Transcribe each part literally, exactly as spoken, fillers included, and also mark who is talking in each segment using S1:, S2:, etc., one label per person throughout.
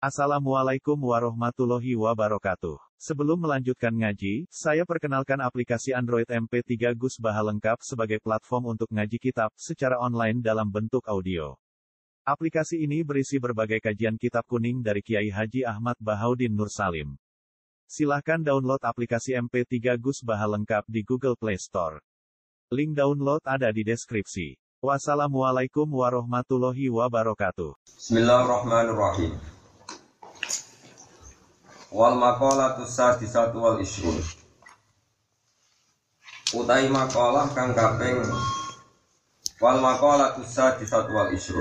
S1: Assalamualaikum warahmatullahi wabarakatuh. Sebelum melanjutkan ngaji, saya perkenalkan aplikasi Android M P tiga Gus Baha lengkap sebagai platform untuk ngaji kitab secara online dalam bentuk audio. Aplikasi ini berisi berbagai kajian kitab kuning dari Kiai Haji Ahmad Bahaudin Nur Salim. Silahkan download aplikasi M P tiga Gus Baha lengkap di Google Play Store. Link download ada di deskripsi. Wassalamualaikum warahmatullahi wabarakatuh.
S2: Bismillahirrahmanirrahim. Wal maqalatu sadisatu wal ishrun. Utai maqalah kang kaping wal maqalatu sadisatu wal ishrun.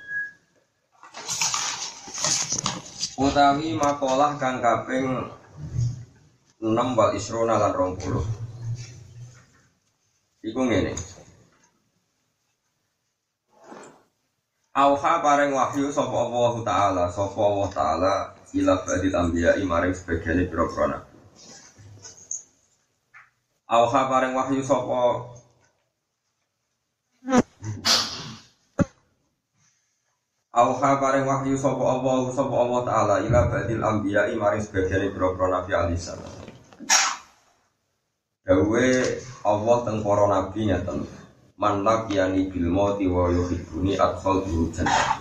S2: Utawi maqalah kang kaping enam wal ishrun lan rong puluh. Iku ngene. Auha paring wahyu sapa Allah Ta'ala, sapa Allah Ta'ala ila badil anbiya'i maring sebagiane pira-pira nabi. Auha paring wahyu sapa Auha paring wahyu sapa Allah sapa Allah Ta'ala ila badil anbiya'i maring sebagiane pira-pira nabi alisan. Dawe Allah teng para nabi ngaten. Man laqiyani bil mauti wa yuhibbuni adkhaltu jannah.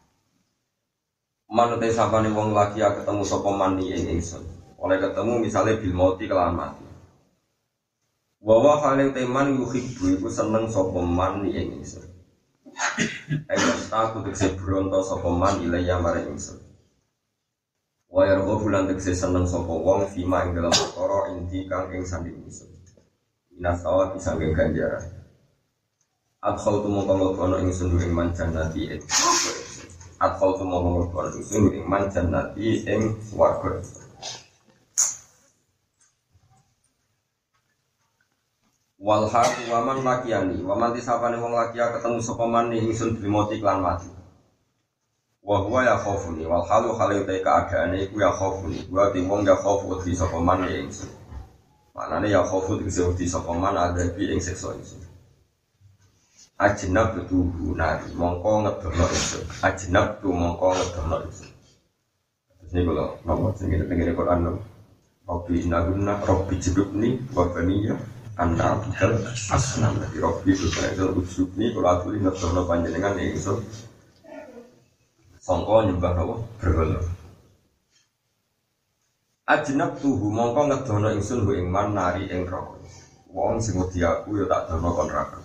S2: Man te sapane wong laki ketemu sapa man ing ingsun. Oleh ketemu misale bil mauti kelawan mati. Wa wa hale teman yuhibbu iku seneng sapa man ing ingsun. Ayo aku tekse bronto sapa man ilaya maring ingsun. Wa yargo bulan tekse seneng sapa wong fima ing dalam perkara inti kang ing sanding ingsun. Inasawa bisa nggen ganjaran. Adkhal tu mongko ono ingsun ing man jannati ing Adkhal tu mongko ono ingsun ing man jannati ing swarga. Wal haq wa man laqiyani wa man tisapane wong lakiya ketemu sapa man ingsun bimoti lan mati. Wa huwa ya khaufuni wal halu halu ta keadaane iku ya khaufuni wa ti wong ya khaufu di sapa man ingsun. Manane ya khaufu di sapa man adabi ing siksa ingsun. Ajnab tu nari mongko ngedono ingsun. Ajnab tu mongko ngedono ingsun. Ini kalau nomor sing ngene Quran lho. Rabbi inna rabbi jibni wa baniya anna bikal asnam di rabbi subhanahu wa ta'ala kalau aturi ngedono panjenengan ingsun. Sangka nyembah napa berhala. Ajnab tu mongko ngedono ingsun ing man nari ing neraka. Wong sing wedi aku ya tak dono kon neraka.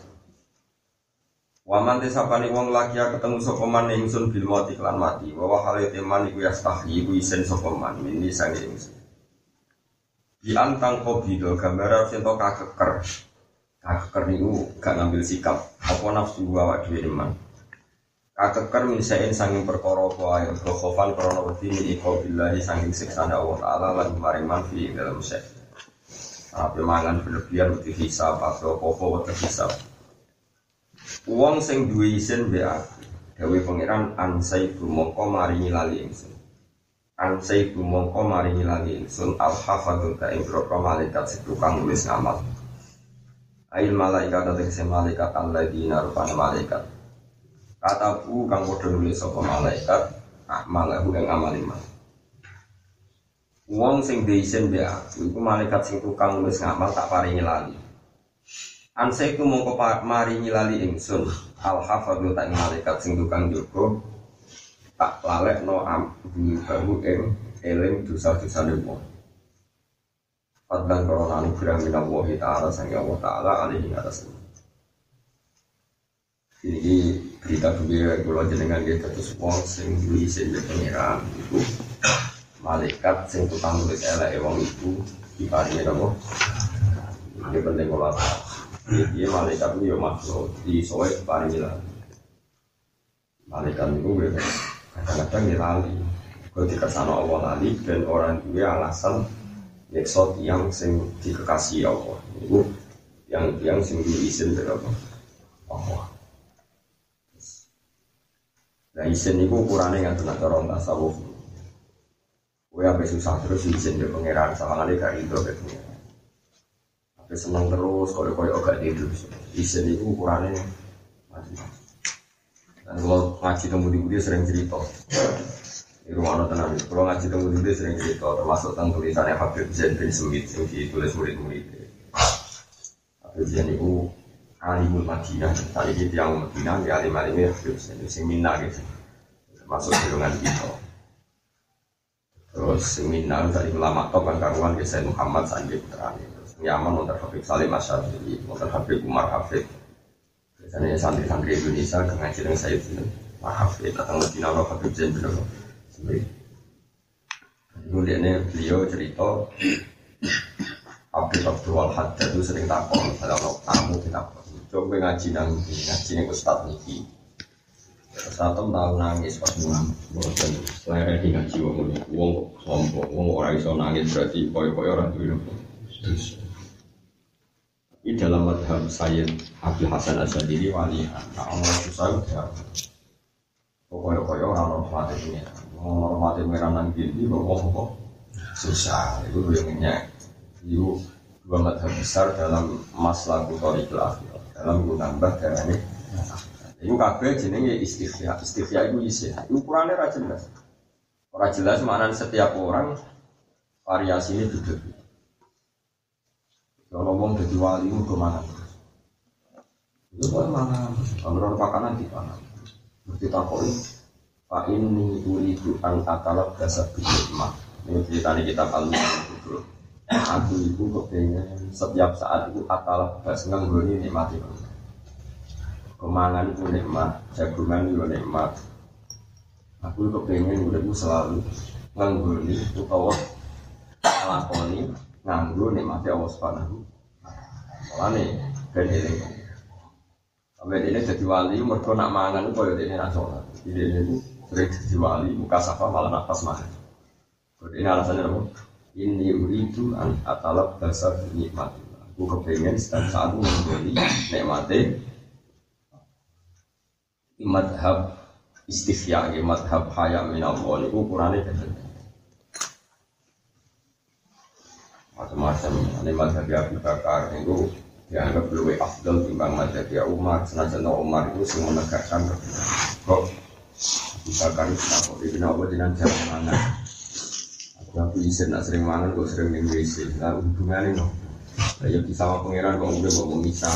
S2: Waman tesapane wong laki ketemu sapa man ingsun bil mati lan mati wa wa hale teman iku yastahi iku isen sapa man mini sange ingsun di antang kobido gambar sing to kakeker kakeker niku gak ngambil sikap apa nafsu awak dhewe man kakeker misaen sanging perkara apa ae khofan krana wedi iko billahi sanging siksane Allah taala lan maring man fi dalam sek apa mangan berlebihan wedi hisab apa-apa wedi hisab. Wong sing duwe isin mbek aku, dawuh pangeran ansai mongko maringi lali ingsun. Ansai mongko maringi lali ingsun al-hafadzul ka ing malaikat sing tukang nulis ngamal. Ail malaikat tegese malaikat alladzina rupane malaikat. Kataku kang padha nulis sapa malaikat, amalahu ing amal iman. Wong sing duwe isin mbek aku, iku malaikat sing tukang nulis ngamal tak paringi lali. Ansaiku mongko maringi lali ingsun al-hafadzu tak malaikat sing tukang jaga tak lalekno ambu bahu ing eling dosa-dosane wong. Padahal korona anugerah minallahi ta'ala sang Allah ta'ala alaihi atas. Ini berita duwe kula jenengan nggih terus wong sing duwe isin pengiran iku malaikat sing tukang nulis eleke wong iku diparingi napa? Ini penting kula. Dia malaikat itu ya makhluk di soal paling jelas. Malaikat itu kadang-kadang dia lali. Kalau dikasih Allah lali dan orang itu alasan nyeksot yang sing dikasih Allah. Itu yang yang sing diizin berapa? Allah. Nah izin itu ukurannya nggak tenang orang tasawuf. Gue sampai susah terus izin dia pangeran sama kali gak itu katanya. Senang terus, kalau-kalau agak tidur. Isen itu ukurannya macam-macam. Dan kalau ngaji temu di dia sering cerita. Di rumah tenan, kalau ngaji temu dulu sering cerita, termasuk tentang tulisannya Habib Zain bin Semit yang ditulis murid-murid. Habib Zain itu alimul Madinah, tadi dia yang Madinah, dia alim-alimnya Habib Zain itu seminar gitu, termasuk golongan kita. Terus seminar tadi ulama top kan karuan ke Said Muhammad Sandi Putra terus nyaman untuk Habib Salim Asy'ari, untuk Habib Umar Hafid. Biasanya santri-santri Indonesia ngaji dengan Said Umar Hafid datang ke Madinah Habib Zain bin kemudian beliau cerita Habib Abdul Wahab itu sering takut kalau tamu kita coba ngaji nang ngaji nih Ustaz Niki satu tahun nangis pas mulang bosan selera di ngaji wong wong sombong wong orang iso nangis berarti koyo-koyo orang tuh terus di dalam madhab Sayyid Abdul Hasan Asy'ari wali Allah susah ya koyo-koyo orang hormat ini hormati merah nang gini kok susah itu yang itu dua madhab besar dalam masalah kutorikel akhir dalam menambah darahnya itu kabeh jenenge istifya istifya itu isi ukurannya ora jelas ora jelas maknanya setiap orang variasi ini beda-beda kalau ngomong jadi wali itu kemana itu kemana kalau makanan di mana berarti takoi Pak ini uridu an atalab dasar bid'ah. Ini ceritanya kitab Al-Mu'min itu. Aku itu kepengen setiap saat itu atalab dasar nganggoni nikmati. Kemangan itu nikmat, jagungan itu nikmat. Aku kepengen udah selalu nganggoni utawa lakoni nganggo nikmati Allah Subhanahu. Mulane ben eling. Sampai ini jadi wali mergo nak mangan itu koyo dene ra salat. Ini itu sering jadi wali, muka safa malah nafas makan. Ini alasannya apa? Ini uridu an atalab dasar nikmat. Aku kepengen setiap saat menjadi nikmati madhab istifya, madhab haya minallah. Ini ukurannya kan macam-macam. Ini madhab Abu Bakar itu dianggap lebih afdal timbang madhab Umar. Senajan Umar itu semua menegakkan kok Bakar itu kenapa? Dia kenapa dengan cara mana? Aku izin nak sering mangan, kok sering minum W C. Nah hubungannya no. Ya bisa sama pangeran kok udah mau misah.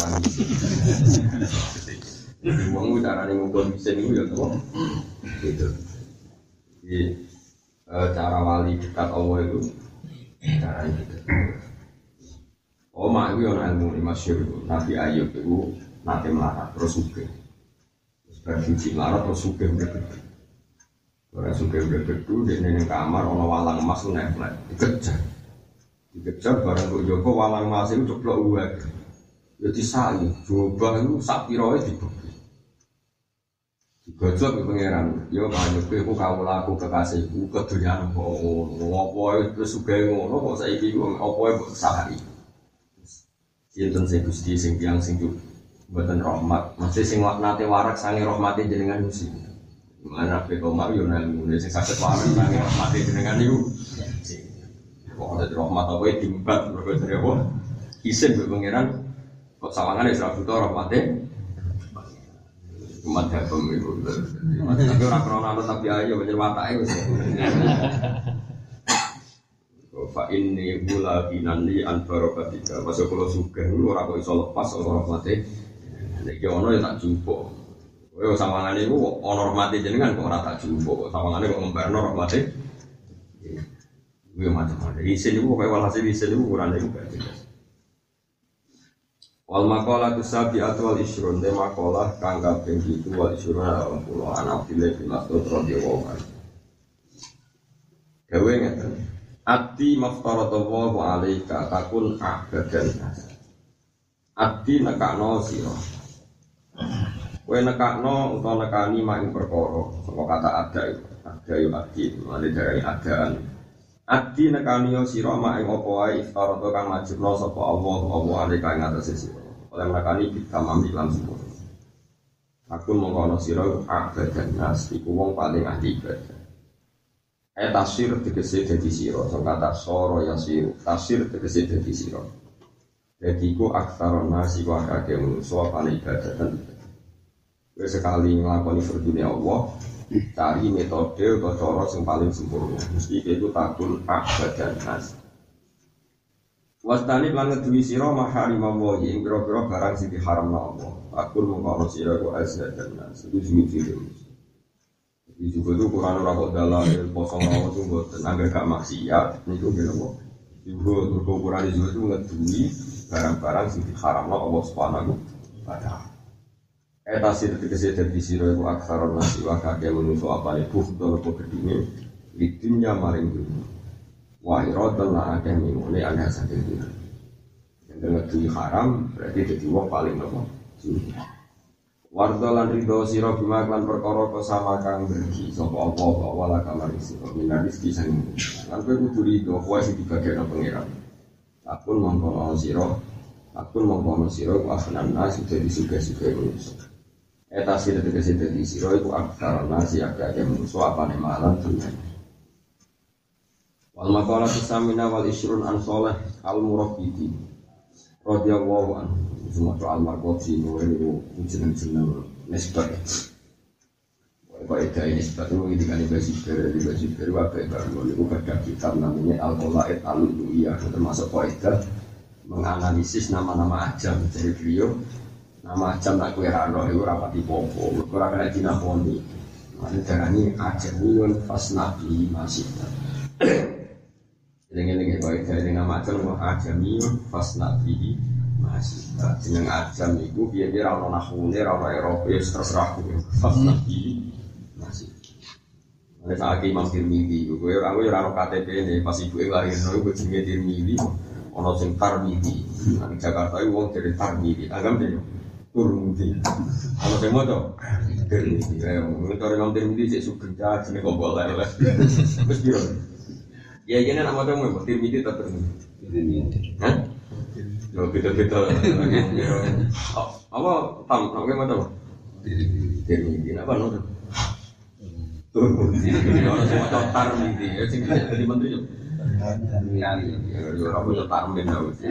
S2: Uang cara nih ngumpul izin itu ya tuh. Gitu. Jadi cara wali dekat Allah itu cara itu. Oh mak itu yang ilmu ini masyhur itu. Nabi Ayub itu nanti melarat terus suke. Berfungsi melarat terus suke begitu. Orang suka udah gedung di neng kamar, orang walang emas tuh nempel, dikejar, dikejar barang kok Joko walang emas itu coplok uang, jadi saling coba itu sapiroi dibagi, digojok ke pangeran, yo banyak aku kau laku kekasihku keduniaan kau, ngopo itu suka ngono kok saya ini ngopo itu sehari, cinten saya gusti sing tiang sing tu, buatan rahmat, masih sing nate warak sange rahmati jenengan musim. Mana P K M yo nang ngene sing saged wae nang rahmate jenengan niku. Kok ada rahmat apa iki timbat mergo dari apa? Isin mbek pangeran kok sawangane ora butuh rahmate. Umat hakem iku. Tapi ora krono tapi ayo pancen watake wis. Fa inni bula binani an barakatika. Masuk kula sugih ora kok iso lepas ora rahmate. Nek ono ya tak jupuk. Kowe sawangane iku ana rahmate jenengan kok ora tak jumbo, sawangane kok ngembarno rahmate. Kuwi macam-macam. Isin iku kowe walhasil isin iku urane iku berarti. Wal maqalah tusabi'at wal ishrun de maqalah kang kaping pitu wal ishrun delapan puluh ana Abdullah bin Mas'ud radhiyallahu anhu. Dewe ngeten. Ati maftaradallahu alaika takun abadan. Ati nekakno sira. Kowe nekakno utawa nekani mak ing perkara saka kata ada itu ada yo adi male dari adaan adi nekani yo sira mak ing apa wae iftarata kang wajibna sapa Allah Allah alika ing atase sira oleh nekani bitamami lan sempurna aku mongko sira abadan nas iku wong paling ahli ibadah eh tafsir tegese dadi sira saka kata soro yasir tafsir tegese dadi sira dadi iku aksaron nasi wa akeh manusa paling ibadah dan sekali ngelakoni berdunia Allah Cari metode atau cara yang paling sempurna. Mesti itu takun abad dan nas. Wastani lan ngeduwi sira maharimah wa ing pira-pira barang sing diharamna Allah. Takun mengkono sira ku azza dan nas. Itu siji. Jadi juga itu Quran ora kok dalil poso rawuh itu mboten angger gak maksiat niku nggih napa. Juga turko Quran juga itu ngeduwi barang-barang sing diharamna Allah Subhanahu wa taala. Eta sir tegese dadi sira iku aksaron nasi wa kakek menungso apane bukto apa gedine didunya maring dunya. Wa iradan la akeh mingune ana saking dunya. Yen ngeduwi haram berarti dadi wong paling nopo. Warda lan ridho sira bima lan perkara kesama kang bergi sapa apa wala kamar isi minar rezeki sing lan kowe kudu ridho kowe sing dibagekno pangeran. Akun mongko sira akun mongko sira ku asnan nas dadi suga-suga manusa. Eta sira tegese dadi sira iku aktar nasi akeh manusa apane malan dunya. Wal maqala tusamina wal isrun an salih al murabbiti radhiyallahu anhu. Semua soal markoti itu jeneng-jeneng nisbat. Kalau itu nisbat itu ketika di Basibir, di Basibir wakai bangun itu ada kitab namanya Al-Qolaid Al-Lu'iyah, termasuk kaidah menganalisis nama-nama ajam. Jadi beliau nama ajam nak kue rano itu rapati popo, kurang kena Cina poni. Mana darahnya ajamiyun fasnabi masih. Jadi kaidah dengan nama ajam ajamiyun fasnabi. Masih, jeneng ajam itu biar-biar orang nahune, orang Eropa, terserah gue. Pas nabi masih. Ada saat Imam Tirmidzi, gue orang gue orang K T P ini pas ibu lahir, gue jenenge Tirmidzi, orang sing Tarmidzi. Di Jakarta itu orang dari Tarmidzi, agam deh, Turmudi. Kalau saya mau tuh, Tirmidzi. Mengenai Imam Tirmidzi sih suka jenenge kobol lah, terus dia. Ya jadi nama kamu Tirmidzi atau Tirmidzi? Hah? Yo beda-beda. Apa tam apa macam? Tirmidzi apa no? Tirmidzi. Ono sing maca Tarmidzi, ya sing dadi menteri yo. Yo ora maca Tarmidzi.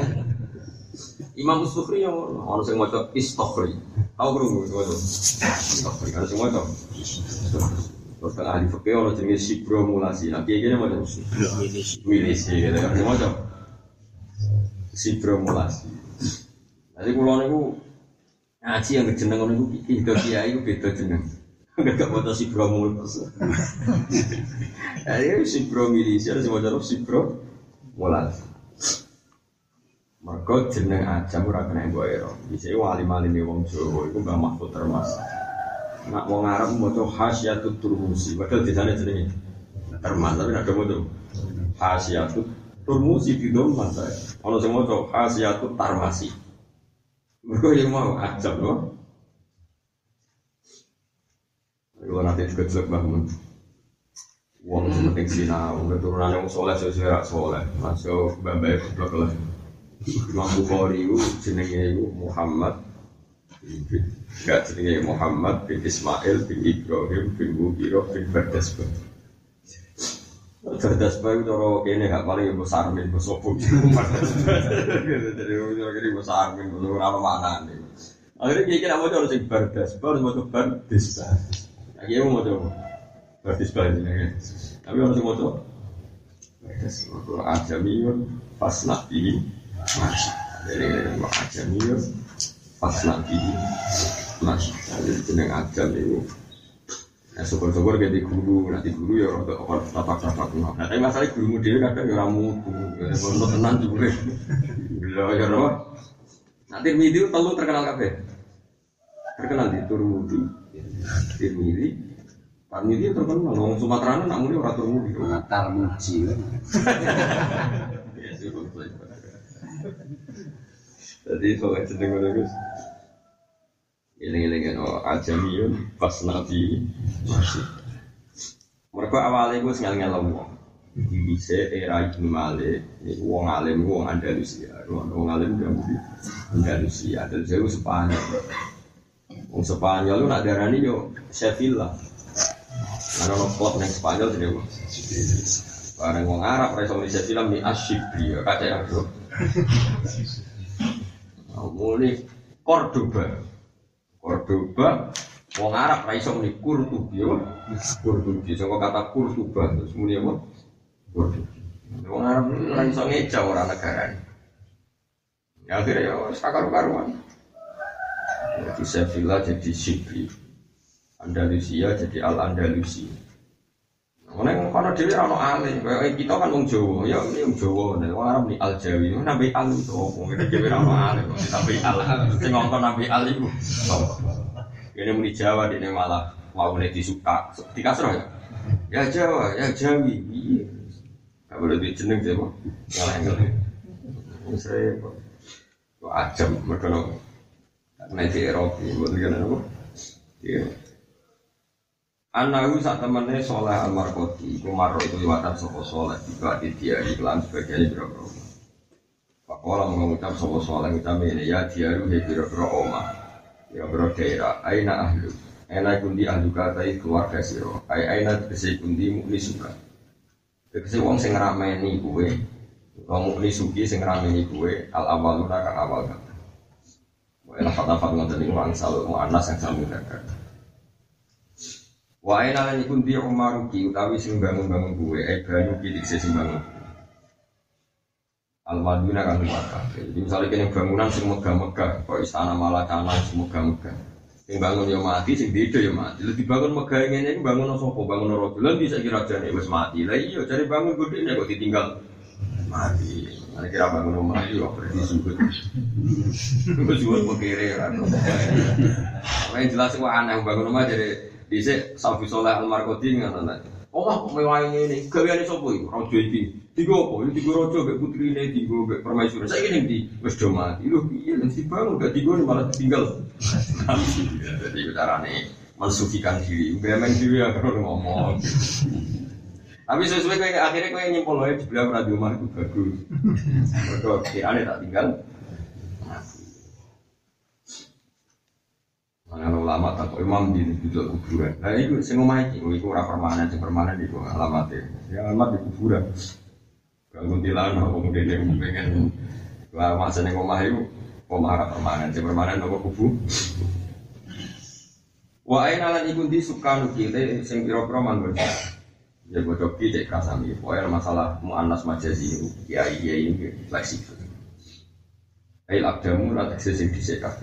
S2: Imam As-Sukhri yo ono sing maca Istokhri. Tahu krungu maca Istokhri kan sing maca. Terus ahli fikih ono jenenge Sibromulasi. Nah kiye-kiye maca Milisi gitu kan maca Sibromulasi. Jadi kalau niku ngaji yang jeneng niku iki kiai iku beda jeneng. Enggak maca Sibromulasi. Ayo Sibromilisi harus maca Sibromulasi. Mergo jeneng ajam ora kena mbok ero. Dise wali-waline wong Jawa iku Mbah Mahfud Termas. Nak wong Arab maca Hasyatut Turmusi, padahal desane jenenge Termas, tapi nek maca Hasyatut Turmusi di dom masa. Kalau semua tu Hasyatut Tarmasi. Mereka yang mau ajab loh. Kalau nanti juga jelek bangun. Uang penting sina, keturunan yang soleh sesuai soleh. Masuk babai blok lah. Imam Bukhari itu jenenge itu Muhammad. Gak jenenge Muhammad bin Ismail bin Ibrahim bin Mughirah bin Bardasbah. Cerdas bae cara kene gak paling besar men sopo. Jadi ora kene besar men ora ono maknane. Akhire iki kira moco sing bardas, bar moco bardis. Iki mau moco bardis bae jenenge. Tapi ono sing moco bardas. Moco ajamiyun pas nabi mas. Jadi ajamiyun pas nabi mas. Jadi jeneng ajam itu ya syukur-syukur kayak di guru, nanti guru ya untuk tapak-tapak nah tapi masalah gurumu dia kadang ya ramu untuk tenang juga ya ya roh nanti Tirmidzi telu terkenal kabeh terkenal di Turmudi Tirmidzi Tirmidzi terkenal orang Sumatera nak muni orang Turmudi Tarmuji ya syukur jadi soalnya jeneng bagus Iling-iling itu ajamiyun pas nabi masih. Mereka awalnya gue sengal-ngal wong. Di bisa era Ibnu Malik, wong alim wong Andalusia, wong alim dia mudi Andalusia. Dan saya Spanyol. Wong Spanyol lu nak darani yo Sevilla. Karena lo klub neng Spanyol jadi wong. Barang wong Arab reso di Sevilla mi Asyibri, kata yang bro. Mulai Cordoba. Cordoba Wong Arab ra iso muni Qurtubi yo. Qurtubi saka kata Qurtubah terus muni apa? Qurtubi. Wong Arab ra iso ngeja ora negarane. Ya akhirnya ya sakar-karuan. Jadi Sevilla jadi Sibri. Andalusia jadi Al-Andalusi. Nek kono dhewe ana alim, kaya kita kan wong Jawa, ya wong Jawa, nek wong Arab ni Al-Jawi, nabi al itu wong dhewe ana alim, nabi al. Sing ngomong nabi al iku. Kene muni Jawa dene malah waune disuka, dikasro ya. Ya Jawa, ya Jawi. Iya. Gak boleh dijeneng Jawa. Ngalah-ngalah. Wis repot. Kok ajam mergo nek di Eropa, mbok ngene apa? Iya. Anahu sak temene soleh al-marqoti iku marro itu liwatan sapa soleh tiba dia iklan sebagai biro-biro. Pakola mengucap sapa soleh utame ya diaru he biro-biro omah. Ya biro daerah aina ahlu. Aina kundi ahlu katai keluarga sira. Ai aina tegese kundi mukni suka. Tegese wong sing ngrameni kuwe. Wong mukni suki sing ngrameni kuwe al-awwaluna ka awal kan. Wae lafat-lafat ngoten niku angsal muannas yang sami kakak. Wae nalan iku ndi Umaruki utawi sing bangun-bangun kuwe e banyu pitik sing bangun. Al-Madinah kan Makkah. Jadi misalnya kene bangunan sing megah-megah, kok istana Malakana sing megah-megah. Sing bangun yo mati, sing beda yo mati. Lha dibangun megah ngene iki bangun sapa? Bangun raja. Lha bisa kira jane wis mati. Lah iya cari bangun gede nek kok ditinggal mati. Nek kira bangun omah yo berarti sujud. Wis wong kere ora. Wah jelas kok aneh bangun omah jadi dhisik Safi Soleh Al-Marqoti ngono ta. Omah mewah ngene, gaweane sapa iki? Raja iki. Digo apa? Digo raja mek putrine, digo mek permaisuri. Saiki ning ndi? Wis do mati. Lho piye lek dibangun gak digo malah ditinggal. Jadi carane mensucikan diri. Bemen diri ya karo ngomong. Tapi sesuai kowe akhirnya kowe nyimpul wae dibilang ora di omah iku bagus. Mergo kirane tak tinggal. Ana ulama tak imam di bidul kuburan. Lah iku sing omah iki, iku ora permanen, sing permanen iku alamate. Ya alamat di kuburan. Kalau kuntilan wong dene pengen lah masa ning omah iku omah ora permanen, sing permanen apa kubu. Wa aina lan iku ndi sukan kile sing pira-pira manggon. Ya bodho ki cek kasami. Pokoke masalah muannas majazi iku kiai-kiai iki fleksibel. Ail abdamu ra tekse sing dhisik kabeh.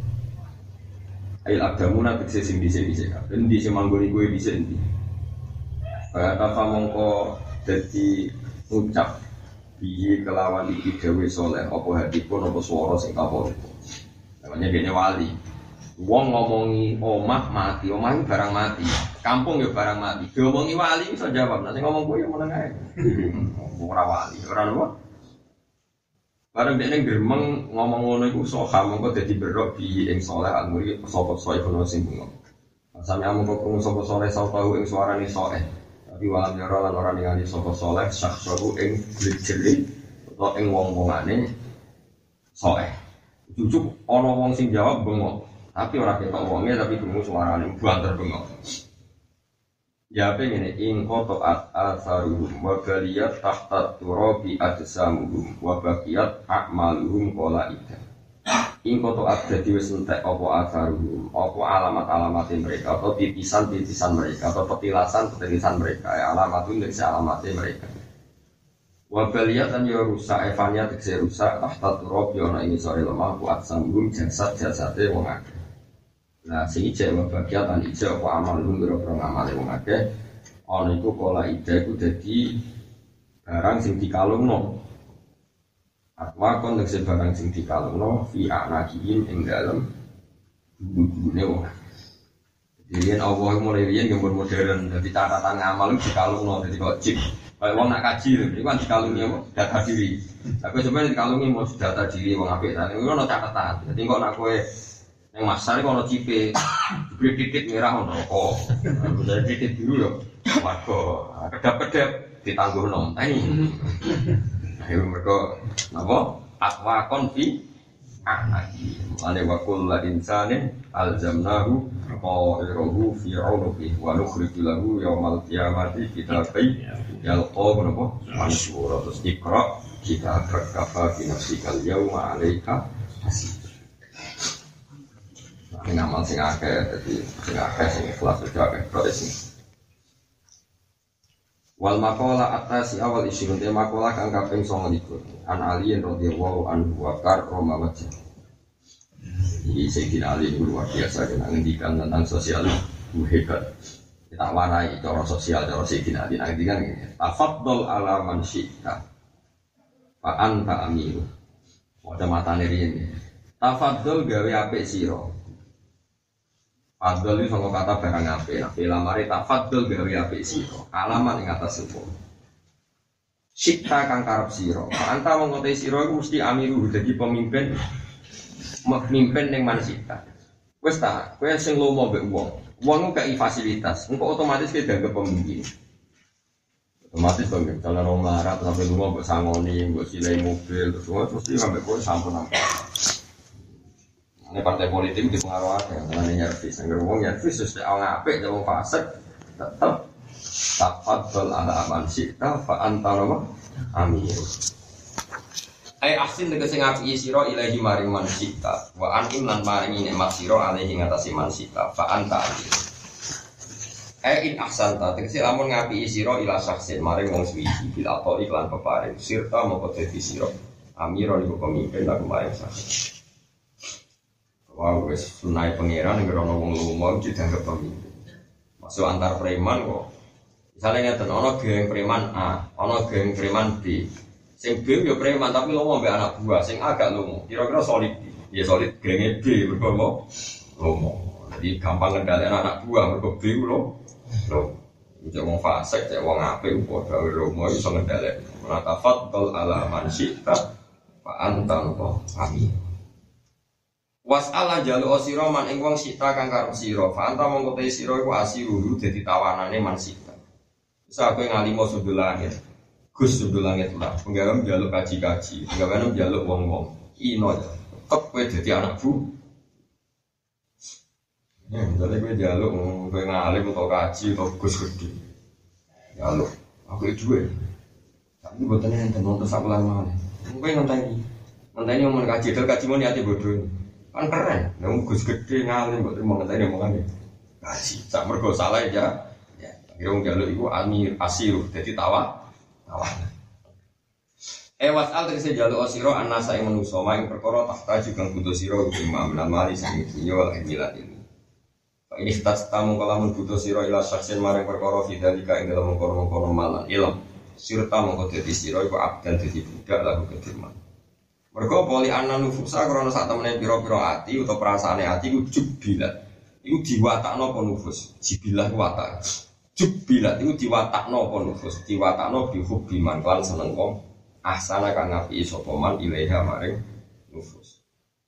S2: Ail abdamu nanti sing dhisik-dhisik kabeh. Endi sing manggon iku dhisik endi? Kaya ta mongko dadi ucap piye kelawan iki dewe saleh apa hadipun apa swara sing kapolpo. Namanya dene wali. Wong ngomongi omah mati, omah iki barang mati. Kampung ya barang mati. Diomongi wali iso jawab. Nek ngomong kowe ya meneng ae. Ora wali, ora apa? Barang dene gremeng ngomong ngono iku soha mongko dadi berok bi ing saleh al-muri sapa soe kono sing bunga. Sami amung krungu sapa saleh sapa ing suarane soe. Tapi walam yara lan ora ningali sapa saleh syakhsahu ing jeli utawa ing wong-wongane soe. Jujuk ana wong sing jawab bengok, tapi ora ketok wonge tapi krungu suarane banter bengok. Ya pengen ing koto at asaruhum wa baliyat tahta turabi adsamuhum wa baqiyat a'maluhum qala ida. Ing koto at dadi wis entek apa asaruhum, apa alamat-alamat mereka atau titisan-titisan mereka atau petilasan-petilasan mereka, ya alamatun dari alamatnya mereka. Wa baliyat an ya rusak evanya tekse rusak tahta turabi ana ing sore lemah wa adsamuhum jasad-jasade wong akeh. Nah, sing ijek wa bagian lan ijek apa amal lu biro-biro ngamale wong akeh. Ana iku kala ijek iku dadi barang sing dikalungno. Atwa kon nek barang sing dikalungno fi anakihim ing dalem dudu-dudune wong. Jadi Allah mulai riyen gambar modern dadi catatan ngamal dikalungno dadi kok chip. Kayak wong nak kaji lho, iku kan dikalungi apa? Data diri. Tapi sebenarnya dikalungi mau data diri wong apik ta. Iku ono catatan. Dadi kok nak kowe yang masar kalau cipe, cipe titik merah ono, oh, jadi titik biru loh, warga, kedap-kedap ditangguh nom, tani, ayo mereka, nabo, akwa konfi, anaki, ane wakul la insanin alzamnahu, qa'iruhu fi 'unuqih, wa nukhriju lahu yaumal qiyamati kitabai yalqahu nabo, mansura terus iqra, kita berkafa bi nafsikal yauma 'alaika hasib. Ning amal sing akeh dadi sing akeh sing ikhlas aja akeh kok sing. Wal maqala atasi awal isyun te maqala kang kaping sanga likur. An Ali radhiyallahu anhu wa karrama wajh. Ini Sayyidina Ali luar biasa kena ngendikan tentang sosial hebat. Kita warai cara sosial cara Sayyidina Ali ngendikan ngene. Tafaddal ala man syi'ta. Fa anta amiru. Wadah matane riyen. Tafaddal gawe apik sira. Fadl itu sangka kata barang apik. Nah, bila mari tafaddal gawe apik sira. Alamat ing atas hukum. Syi'ta kang karep sira. Fa anta mongko te sira iku mesti amiru dadi pemimpin. Memimpin ning manusia. Wis ta, kowe sing lomo mbek wong. Wong ku gak fasilitas, engko otomatis kowe dianggap pemimpin. Otomatis to nek kalau wong larat sampe lomo mbok sangoni, mbok silai mobil, terus wong mesti sampe kowe sampun apa. Ini partai politik dipengaruhi dengan nyervis, angger wong nyervis wis nek apik wong fasik tetep tafaddal ala man syi'ta fa anta amir. Ai ahsin tegese ngapi sira ilahi maring mansita wa anim lan maring nikmat sira alaihi ngatasi mansita fa anta amir. Ai in ahsanta tegese lamun ngapi sira ila saksin maring wong suwiji bil atau iklan peparing sirta moko dadi sira amira iku pemimpin laku maring saksin. Wah wis sunai pangeran nek ana wong lumo dianggap pemimpin. Masuk antar preman kok. Misalnya ngeten ana geng preman A, ana geng preman B. Sing B yo preman tapi lomo mbek anak buah, sing agak lomo. Kira-kira solid. Ya solid genge B mergo lomo. Jadi gampang ngendhalekno anak buah mergo B lomo. Lomo. Cek wong fasik, cek wong apik padha lomo iso ngendhalek. Ora tafaddal ala man syi'ta fa anta amin. Was'ala jalu sira man ing wong syi'ta kang karep sira. Fa anta mongko te sira iku asiru dadi tawanane man syi'ta. Wis aku ngalimo sundul langit. Gus sundul langit lah, penggawe njaluk kaji-kaji, penggawe njaluk wong-wong. Ino tetep kowe dadi anak bu. Ya, dadi kowe njaluk kowe ngalim utawa kaji utawa Gus gede. Njaluk, aku duwe. Tapi botone enten nonton sak lama. Kowe ngenteni. Ngenteni omong kaji, dal kaji mau niate bodho. Kan keren, nek Gus gede ngalim kok terima ngenteni omongane. Kaji, sak mergo salah ya. Ya, kira wong njaluk iku amir asiru dadi tawa. Awan. Eh wasal tegese jaluk sira anasa ing manusa maing perkara tahta juga butuh sira imam lan mali sing dunya lan milat ini. Pak ini stat tamu kalamun butuh sira ila saksen maring perkara fidalika ing dalem kono-kono malan ilm. Sirta mongko dadi sira iku abdan dadi budak lagu kedirman. Mergo poli ana nufusa krana sak temene pira-pira ati utawa perasaane ati iku jubilat. Iku diwatakno apa nufus? Jibilah watak. Jubilat itu diwatakno apa nufus, diwatakno bihubbi man lan seneng wong ahsana kang ngapi sapa man ilaiha maring nufus.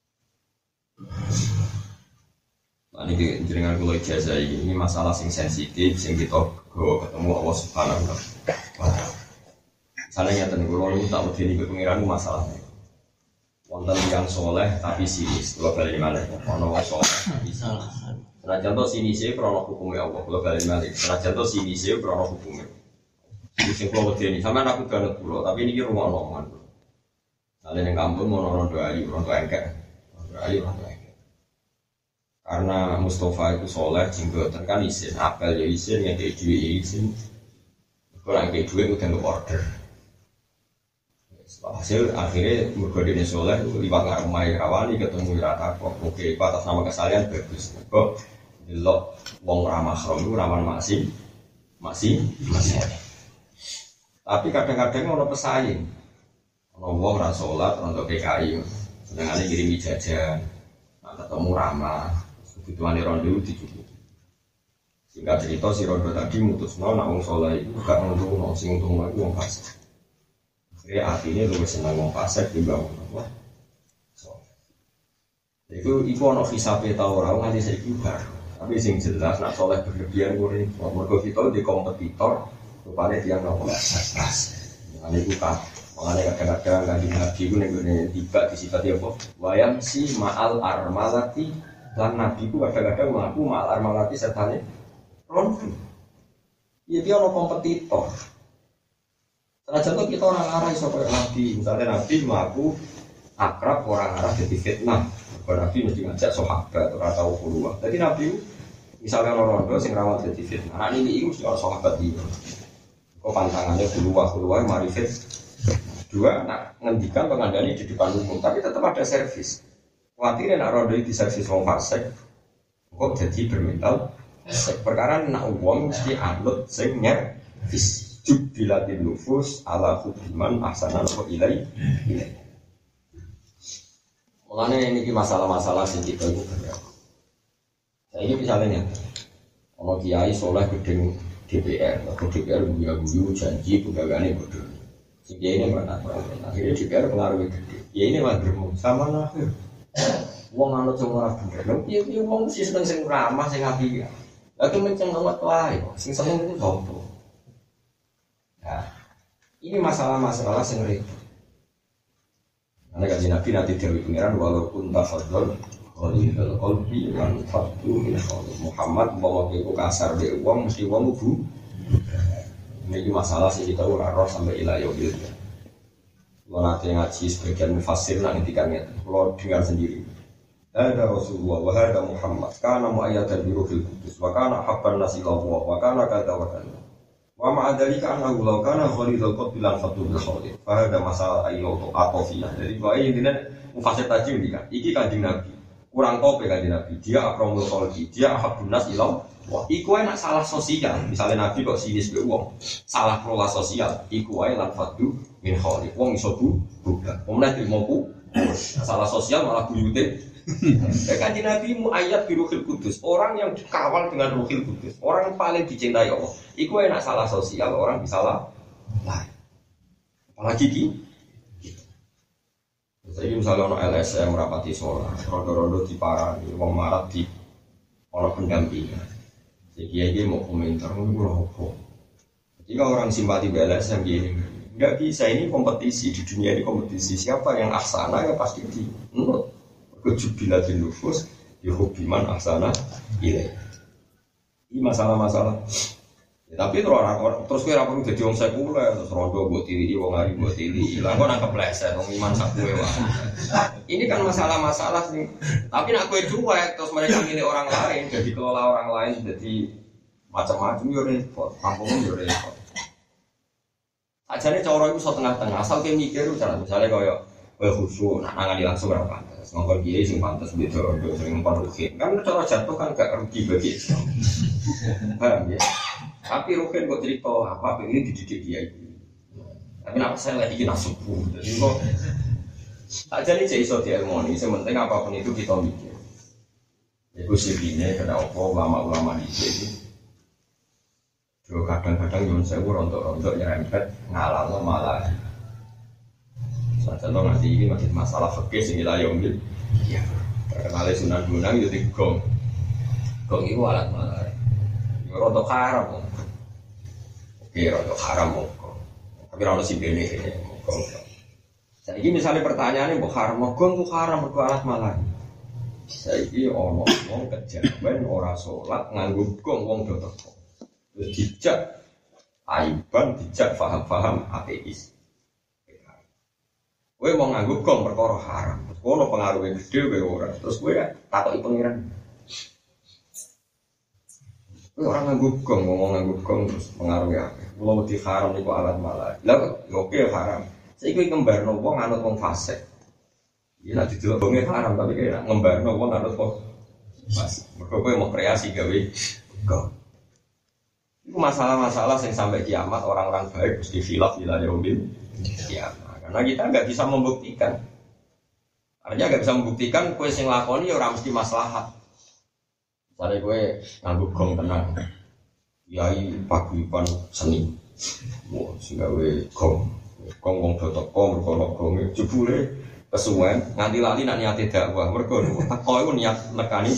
S2: Nah ini jenengan kula ijazah ini masalah sing sensitif sing kita go ketemu Allah Subhanahu wa taala. Misalnya ngeten kula niku tak medeni ke pengiran masalahnya. Wonten yang soleh tapi sinis, kula bali malih ana wong soleh tapi salah. Nah contoh sini sih krono hukumnya Allah, kalau balik balik. Nah contoh sini sih krono hukumnya. Di sini kalau ini, sama aku banget pulau, tapi ini rumah omongan. Kalian yang kampung mau nonton doa ayu, nonton engkek, doa ayu, nonton engkek. Karena Mustafa itu soleh, jenggotan kan isin, apel ya isin, yang kayak duit ya isin. Kalau yang kayak duit udah nggak order. Hasil akhirnya berkodenya soleh, liwat nggak rumah rawani ketemu rata kok. Oke, atas nama kesalahan bagus. Kok delok wong ramah rom itu ramah masih masih masih tapi kadang-kadang ono pesaing ono wong ra salat untuk P K I senengane ngirimi jajan nah, ketemu ramah kebutuhane rondo dicukupi sehingga cerita si rondo tadi mutusno nek wong saleh iku gak ngono sing untung iku wong fasik akhirnya atine luwih seneng wong fasik timbang wong itu iku ono hisabe ta ora nganti saiki bar. Tapi sing jelas nak soleh berlebihan kuwi mergo kita di kompetitor rupane tiyang nopo pas. Ngene iku kan mangane kadang-kadang kanjeng Nabi ku ning ngene tiba disifati apa? Wayam si ma'al armalati lan Nabi ku kadang-kadang mengaku ma'al armalati setane rondo. Ya dia ono kompetitor. Senajan kita orang arah iso koyo Nabi, misalnya Nabi mengaku akrab orang arah jadi fitnah. Kalau Nabi mesti ngajak sahabat ora tau keluar. Jadi Nabi misalnya orang rondo sing rawat jadi fitnah. Nah ini itu mesti orang sahabat dia. Kok pantangannya keluar keluar mari fit. Dua nak ngendikan pengandani di depan umum, tapi tetap ada servis. Khawatirnya nak rondo di servis wong fasik, kok jadi bermental. Perkara nak uang mesti anut sing nyervis. Jubilatin nufus ala hubiman ahsanan wa ilai ilai. Mulanya ini masalah-masalah sing kita itu banyak. Saya ini misalnya nih, kalau kiai soleh gedeng D P R, atau D P R guyu-guyu janji pegawainya bodoh. Sing kiai ini mana? Akhirnya D P R pengaruhnya gede. Ya ini mah germo sama lah. Wong anut sing ora bener. Lha piye wong mesti seneng sing ramah sing apik. Lah ki menceng awak wae kok. Sing seneng itu sopo? Nah, ini masalah-masalah yang repot. Karena kaji Nabi nanti dari pengiran walaupun tafadhol qalil qalbi wan fatu min Muhammad bawa ke kasar de wong mesti wong bu. Ini masalah sih kita ora roh sampai ila yaumil qiyamah. Kalau nanti ngaji sebagian mufassir nak ngendikannya, kalau dengar sendiri. Ada Rasulullah wa hada Muhammad kana mu'ayyatan bi ruhil qudus wa kana habban nasi ila Allah wa kana kadza wa kadza. Wa ma'adzalika annahu law kana khalidul qad bilan fatu bil khalid fa hada masalah ayo atofiyah. Jadi bae intine mufassir tajim iki kan iki kanjeng Nabi kurang tope kanjeng Nabi dia akramul khalqi dia habun nas ila wah iku enak salah sosial misalnya Nabi kok sinis be wong salah kelola sosial iku wae lan fatu min khalid wong iso bu bukan wong nek ilmu salah sosial malah buyute. Kanjeng Nabi mu ayat bi ruhil kudus orang yang dikawal dengan ruhil kudus orang yang paling dicintai Allah iku enak salah sosial orang bisa lah nah apalagi ki jadi misalnya ono L S M rapati sholat rodo-rodo diparani wong marat di ono pendampingan jadi dia mau komentar ngono opo jika orang simpati B L S M gini enggak bisa ini kompetisi di dunia ini kompetisi siapa yang ahsana ya pasti di menurut kejubilatin nufus dihubiman ahsana ilai. Ini masalah-masalah. Ya, tapi terus orang terus kira perlu jadi orang sekuler terus rondo buat tiri, wong hari buat tiri. Lah kok nangkep pleset, wong iman sakue wae. Ini kan masalah-masalah sih. Tapi nak kue cuek terus mereka milih orang lain, jadi kelola orang lain, jadi macam-macam yo repot, kampung yo repot. Ajane cara iku iso tengah-tengah, asal ke mikir misalnya koyo koyo khusyuk, nak nangani langsung ora pantes. Ngomong kiai sing pantes beda rondo sing ngomong ruhin. Kan cara jatuh kan gak rugi bagi Islam. Paham ya? Tapi ruhin kok cerita apa pengen dididik kiai. Tapi nak saya lagi kena subuh. Jadi kok aja nih cek iso dielmoni, sementing apapun itu kita mikir. Iku sibine kenapa ulama-ulama di sini. Jo kadang-kadang yo sewu rontok-rontok nyerempet ngalalo malah. Contoh nanti ini masih masalah fikih sing ila yaumil ya terkenal Sunan Gunung itu digong gong itu alat malah itu rontok haram oke rontok haram tapi rontok simbene gong jadi misalnya pertanyaannya mau haram gong itu haram itu alat malah saya ini ono wong kejawen ora sholat nganggo gong wong do teko terus dijak aiban dijak paham-paham ateis. Kowe mau nganggo gong perkara haram. Terus kono pengaruhe gede kowe ora. Terus kowe takoki pangeran. Kowe ora nganggo gong, ngomong nganggo gong terus pengaruhe akeh. Mula wedi haram niku alat malah. Lah oke haram. Saiki kowe ngembarno wong anut wong fasik. Ya nek didelok gonge haram tapi kowe ngembarno wong anut wong fasik. Mergo kowe mau kreasi gawe gong. Itu masalah-masalah yang sampai kiamat orang-orang baik mesti khilaf ila yaumil kiamat. Karena kita nggak bisa membuktikan, artinya nggak bisa membuktikan kue sing lakoni orang mesti maslahat. Misalnya kue nganggo gong tenang, yai paguyuban seni, mau sehingga kue gong, gong gong dotok gong, berkolok gong, jebule kesuwen, nganti lali nak niat dakwah, mergo teko iku niat nekani.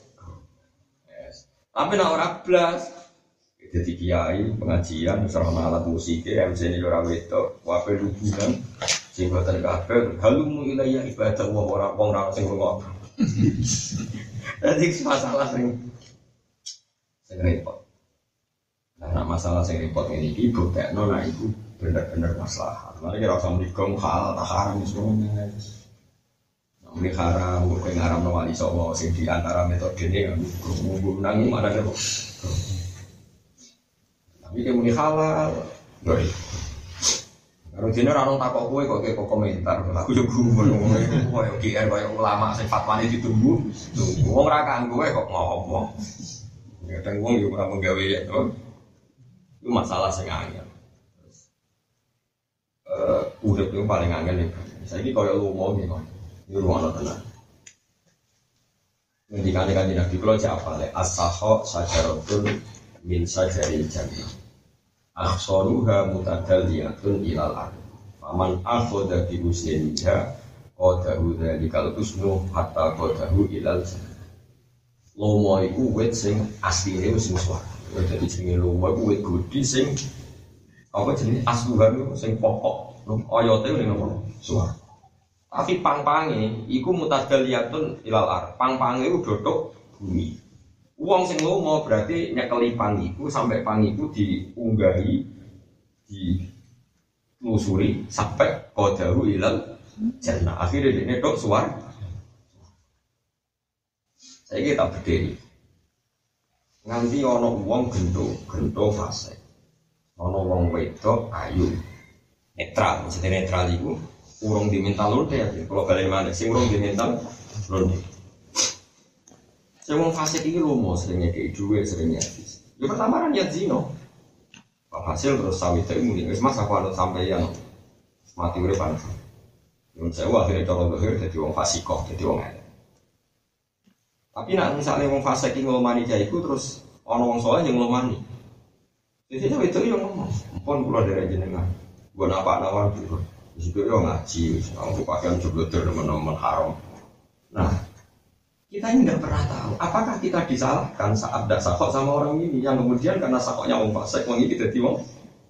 S2: Tapi nak ora blas. Jadi kiai pengajian misalnya alat musik M C ini orang wedok wape hubungan sing boten kabeh halumu ilayya ibadah wong ora wong ora sing ngono. Jadi masalah sing sing repot. Nah masalah sing repot ini iki buktekno nek iku bener-bener masalah. Mari kira usah mriko hal tak haram semuanya. Ini haram, gue ngaram no wali songo, sing di antara metode ini kan, gue nangis mana nih kok. Tapi dia muni halal, gue. Kalau jenis orang takut gue kok kayak komentar, aku juga gue ngomong gue, oke, kayak ulama sing fatwanya ditunggu, tunggu, gue ngerakan gue kok ngomong. Kadang gue juga pernah menggawe ya, itu masalah sing angel. Udah itu paling angel nih, saya ini kalau lu mau nih kok. Ini ruang tenang. Ngendikan kanjeng Nabi kula cek apale as-sakha sajaratun min sajaril jannah. Akhsaruha mutadalliyatun ilal ardh. Faman akhadha bi usniha qadahu dzalikal husnu hatta qadahu ilal jannah. Lomo iku wit sing asline wis suwar. Dadi jenenge lomo iku wit gudi sing apa jenenge asluhan sing pokok. Oyote ning ngono suwar. Tapi pang-pange iku mutadalliyatun ilal ardh. Pang-pange iku dodok bumi. Wong sing lomo berarti nyekeli pang iku sampai pang iku diunggahi di lusuri sampai qadahu ilal jannah. Akhire dene tok suwar. Saiki tak bedheki. Nganti ana wong gento, gento fase. Ana wong wedok ayu. Netral, mesti netral iku urung diminta lonte ya, kalau balik mana, sing urung diminta lonte. Sing wong fasik iki lomo seringnya kayak duwe seringnya habis. Ya pertama kan ya zino. Hasil terus sawit itu muni, wis mas aku anut sampai yang mati urip panas. Yang saya akhirnya cara dohir jadi wong fasikoh, jadi wong elek. Tapi nak misalnya wong fasik iki ngomani jaiku terus ana wong saleh yang ngomani. Jadi itu yang ngomong, pun kula dari jenengan. Gua napa nawan gitu. Di situ yo ngaji, aku pakaian jebloter teman-teman haram. Nah, kita ini tidak pernah tahu apakah kita disalahkan saat tidak sakok sama orang ini yang kemudian karena sakoknya wong fasik, wong ini jadi wong.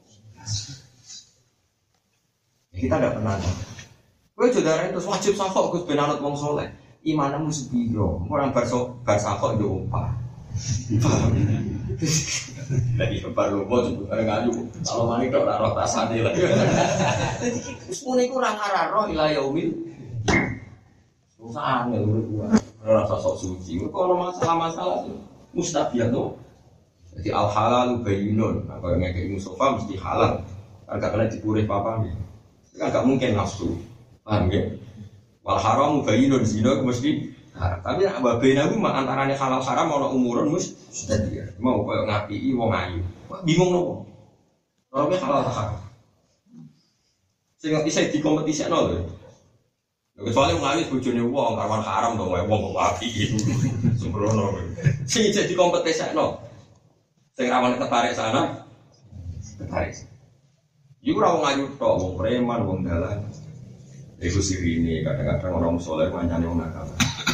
S2: Kita tidak pernah tahu. Gue saudara itu wajib sakok, gue benanut wong soleh. Imanmu sepiro, orang berso bersakok yo umpah. Lagi baru mau sebut orang ngaju. Kalau mana itu orang roh tasane lah. Semua ini kurang arah roh ilah yaumil. Susah nggak urut gua. Rasa sok suci. Kalau masalah-masalah mustabiat tuh. Jadi al halal bayinun. Nah, kalau yang kayak Mustafa mesti halal. Agak kena dipurih papa nih. Kan nggak mungkin nafsu. Paham ya? Wal haram bayinun zina mesti. Nah, tapi nak babena ku antarane halal haram ana umurun mus sudah dia. Mau koyo ngapiki wong ayu. Bingung nopo? Ora ke halal haram. Sing bisa dikompetisakno lho. Kecuali wong ayu bojone wong karwan haram to wong kok apiki. Sembrono. Sing bisa dikompetisakno. Sing rawan ketarik sana. Ketarik. Iku ora wong ayu tok, wong preman, wong dalan. Iku sirine kadang-kadang orang saleh mancane wong nakal.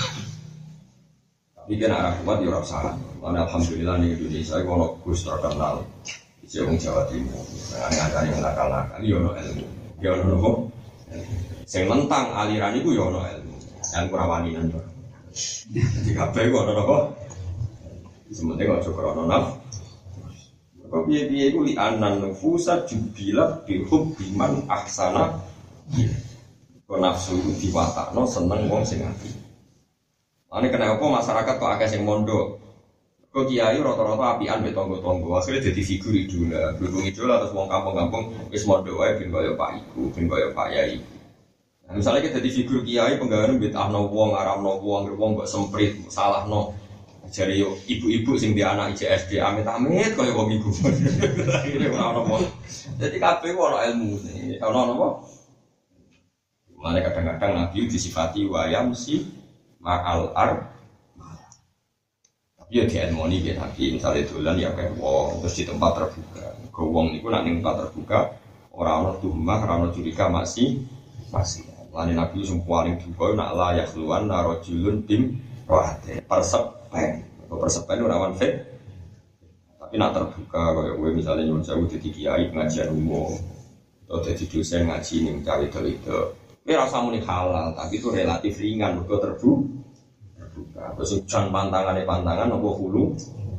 S2: Ini kan arah kuat ya orang salah. Karena alhamdulillah di Indonesia kalau Gus terkenal, itu orang Jawa Timur. Aneh-aneh yang nakal-nakal, ya ono ilmu. Ya ono nopo. Yang mentang aliran itu ya ono ilmu. Yang kurawani nanti. Di kabeh kok ono nopo. Sementing kok cukup ono naf. Kok biaya-biaya itu li'anan nufusa jubilah bihub biman aksana. Kok nafsu itu diwatakno seneng wong sing ati. Ane kenapa masyarakat kok agak sing mondok? Kok kiai rata-rata apian be tonggo-tonggo, akhirnya jadi figur idola, berhubung idola terus wong kampung-kampung wis mondok wae ben kaya Pak Iku, ben kaya Pak Yai. Nah, misalnya kita jadi figur kiai penggawean betahno wong, aramno wong, wong kok semprit, salahno. Jare yo ibu-ibu sing di anak I J S D amit-amit kaya wong iku. Akhire ora ono. Jadi kabeh ora ilmu. Ono napa? Mane kadang-kadang Nabi disifati wayam si ma'al ar tapi ya di ilmoni ya tapi misalnya dolan ya kayak wong terus di tempat terbuka ke wong itu nak di tempat terbuka orang-orang tuhmah, orang-orang curiga masih masih lain Nabi semua paling juga nak layak keluar narojulun tim rohate persepen persepen orang fake tapi nak terbuka kayak gue misalnya nyuwun sewu jadi kiai pengajian umum atau jadi dosen ngaji nih mencari itu ini rasa muni halal, tapi itu relatif ringan, mereka terbuka. Terbuka. Terus hujan pantangannya pantangan, nopo hulu.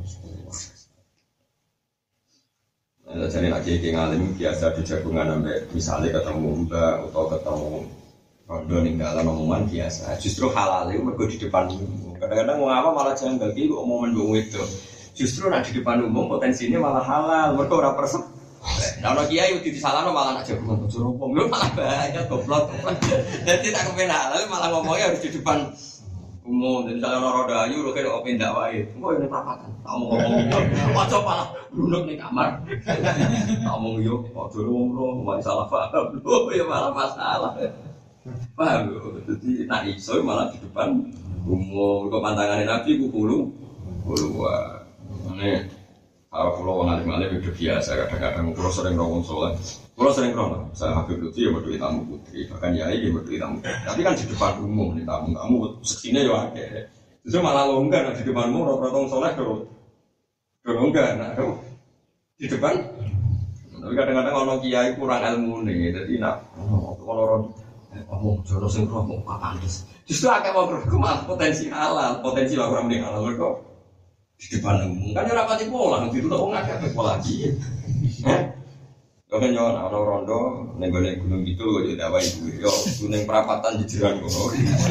S2: Nah, jadi lagi yang ngalim biasa di jagungan sampai misalnya ketemu mbak atau ketemu rondo ninggalan omongan biasa. Justru halal itu mergo di depan umum. Kadang-kadang wong apa malah janggal iki kok omongan wong itu. Justru nek di depan umum potensinya malah halal, mergo ora persep. Nah, ono kiai udah disalahno malah nak jago bojo rompong, lho malah banyak goblok. Jadi tak kepen halal malah ngomongnya harus di depan umum. Jadi kalau orang dayu, lo kayak open dakwah itu, gue ini perapatan. Kamu ngomong gitu, wajah malah duduk di kamar. Kamu yuk, wajah ngomong, masih salah paham, lo ya malah masalah. Paham lo? Jadi nak iso malah di depan umum. Kau pantangan Nabi, gue kulu, kulu wah. Ini kalau pulau orang alim-alim itu biasa, kadang-kadang pulau sering ngomong soal, pulau sering ngomong, saya Habib Lutfi ya berdua tamu putri, bahkan Yai ya berdua tamu. Tapi kan di depan umum nih tamu, kamu seksinya ya ada. Justru malah longgar di depan umum, orang-orang soleh dulu, longgar, nah dulu di depan. Tapi kadang-kadang orang kiai kurang ilmu nih, jadi nak orang ngomong jodoh sing ngomong apa pantas. Justru agak mau berkembang potensi halal, potensi orang mending halal kok. Di depan umum kan ora pati pola itu tuh wong akeh pola iki. Eh. Yo kan yo ana rondo ning gone gunung gitu kok yo dawahi duwe. Yo gunung perapatan di jeran kono.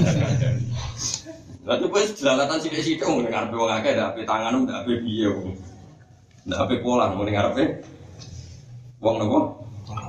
S2: Lah tuh wis jelalatan sithik-sithik wong ning arepe wong akeh ndak ape tanganmu ndak ape piye wong. Ndak ape pola ning arepe wong nopo?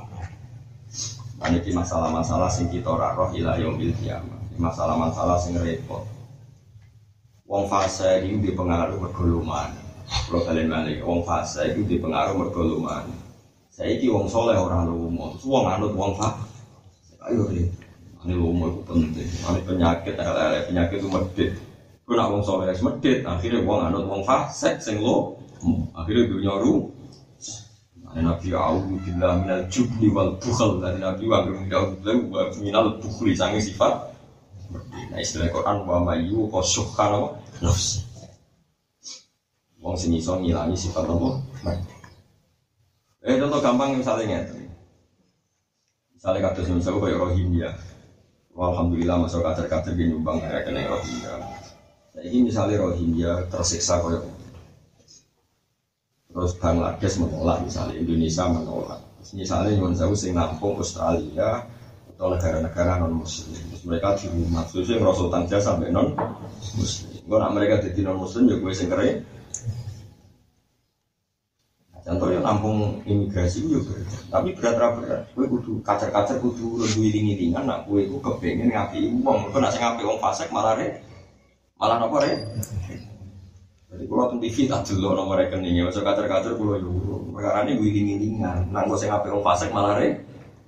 S2: Ini masalah-masalah sing kita ora roh ila yaumil qiyamah. Masalah-masalah sing repot. Wong fase itu dipengaruhi mergoluman. Kalau kalian balik, wong fase itu dipengaruhi mergoluman. Saya ini wong soleh orang lumo, wong anut wong fase. Ayo deh, ini lumo itu penting. Ini penyakit, ada penyakit itu medit. Kau nak wong soleh medit, akhirnya wong anut wong fase, sing lo, akhirnya dunia ru. Nabi A'udhu Billah minal jubni wal bukhal. Dari Nabi A'udhu Billah minal bukhli, sangi sifat. Nah istilah Quran wa mayu kosukhana nafsi. Wong sing iso ngilangi sifat apa? Eh contoh gampang misalnya ngeten. Misalnya kados misal koyo Rohingya. Alhamdulillah masuk kader-kader ge nyumbang ya kene Rohingya. Saiki misalnya Rohingya tersiksa koyo terus Bangladesh menolak, misalnya Indonesia menolak. Misalnya nyuwun sewu sing nampung Australia atau negara-negara non muslim, terus mereka di rumah, sesuai ngerasa utang jasa sampai non muslim. Kalau nak mereka jadi non muslim, ya gue sing keren. Contohnya nampung imigrasi juga, tapi berat-berat. Gue kudu kacer-kacer kudu lebih iling-ilingan. Nak gue itu kepengen ngapi uang, gue nak ngapi uang fasek malah re, malah nopo re. Jadi kalau tuh T V tak dulu nomor rekeningnya, masuk kacer-kacer gue yuru. Perkara ini gue iling-ilingan, nak gue ngapi uang fasek malah re.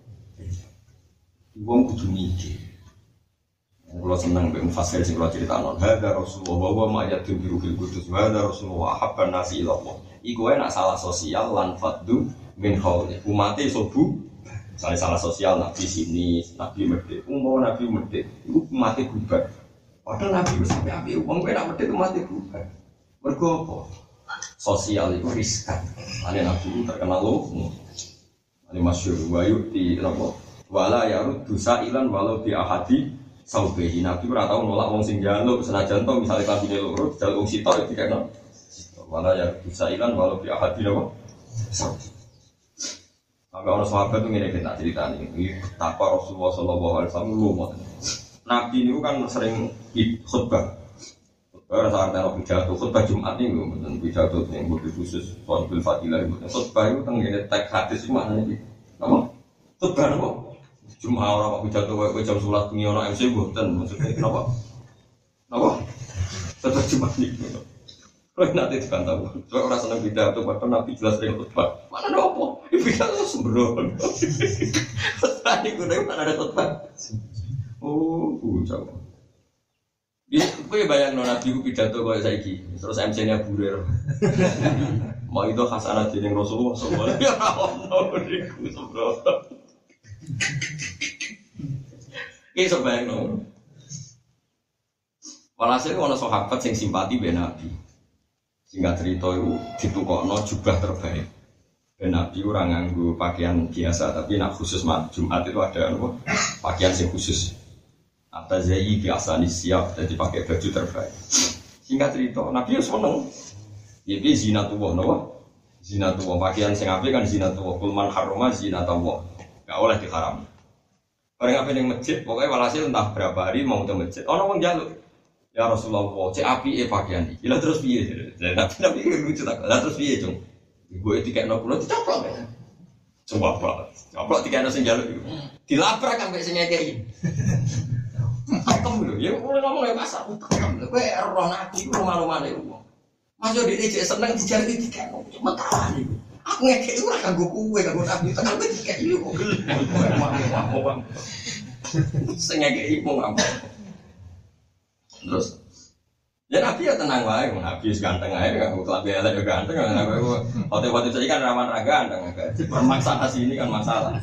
S2: Wong kudu mikir. Kalau senang beng fasir sing kalau cerita non, ada Rasulullah bahwa mayat tu biru fil kudus, ada Rasulullah habban nasi ilallah. Iku enak salah sosial lan faddu min hauli. Umate sobu, misalnya salah sosial nabi sini, nabi medit, umum nabi medit, iku umate bubar. Padahal nabi sampai ambil uang gue nak medit umate bubar. Mergo apa? Sosial itu riskan. Ane nabi terkenal loh. Ane masyhur wa yu'ti napa? Wala yaruddu sa'ilan walau bi ahadi saubehi. Nabi ora tau nolak wong sing njaluk senajan to misale kabine loro njaluk wong sitok iki kan. Wala yaruddu sa'ilan walau bi ahadi napa? Saubehi. Sampai orang sahabat itu ngene kita ceritani. Iki takwa Rasulullah sallallahu alaihi wasallam lu. Nabi niku kan sering khutbah. Khutbah rasa artine pidato khutbah Jumat niku mboten pidato sing khusus soal fadilah itu. Khutbah itu tengene teks hadis maknane iki. Apa? Khutbah napa? Cuma orang waktu jatuh kayak jam sholat ini orang M C buatan maksudnya kenapa? Kenapa? Tetap cuma nih. Kalau nanti dikantau, soalnya orang senang beda tuh bahkan Nabi jelas dari khutbah. Mana ada apa? Ibu kan sembrono. Tadi gue dari mana ada khutbah? Oh, jauh. Ini gue bayang no Nabi gue pidato kayak saiki, terus M C-nya burir. Mau itu khasanah jadi Rasulullah semua. Ya Allah, gue sembrono. Ini sebayang no. Walhasil ada sahabat yang simpati be Nabi. Singkat cerita itu ditukokno jubah terbaik. Ben Nabi orang nganggo pakaian biasa, tapi nak khusus Jumat itu ada apa? Pakaian yang khusus. Atas zayi biasa nih siap, jadi pakai baju terbaik. Singkat cerita, Nabi itu seneng. Jadi zinatullah, no? Zinatullah pakaian sing apik kan zinatullah. Kulman haroma zinatullah. Gak oleh diharam. Orang apa yang masjid, pokoknya walhasil entah berapa hari mau ke masjid. Orang mau jaluk. Ya Rasulullah, cek api e pakaian iki. Lah terus piye? Nabi Nabi lucu tak. Lah terus piye, Cung? Gue dikekno kula dicoplok ya. Coba apa? Coplok dikekno sing jaluk iku. Dilabrak ambek sing ngekeki. Pakem lho, ya ora ngomong ya pasar. Pakem lho, kowe roh nabi iku rumah-rumane wong. Mas yo dhewe cek seneng dijari dikekno. Metawan iku. Aku ngekeki ora kanggo kowe, kanggo nabi tekan kowe dikeki yo kok gelem. Sing ngekeki wong apa? Terus ya Nabi ya tenang wae, Nabi ganteng ae kan klambi elek yo ganteng kan aku hotel-hotel saiki kan rawan ra ganteng agak permaksa sini kan masalah.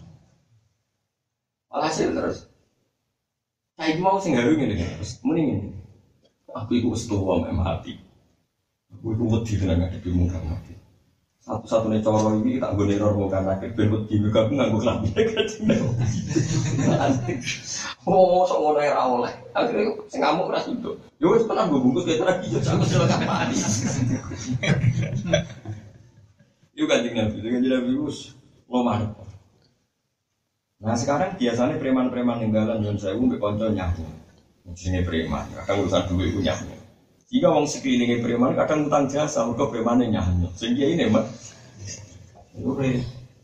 S2: Alhasil terus saiki mau sing gawe ngene terus muni ngene. Aku iku wis tuwa mek mati. Aku iku wedi tenan ngadepi muka mati. Satu-satunya cara ini tak gue neror muka mati ben wedi muka aku nganggo klambi kecil. Oh, sok ngono ora oleh. Akhire sing ngamuk ora sido. Yo wis tenan gue bungkus kaya lagi yo aku silakan mati. Yo kanjeng Nabi, kanjeng Nabi wis ngomong. Nah, sekarang biasanya preman-preman ninggalan nyon sewu mbek kanca nyahu. Jenenge preman, kadang urusan duit ku nyahu. Jika wong sekelilinge preman kadang utang jasa mergo premane nyahu. Sing kiye ini, Mas. Ore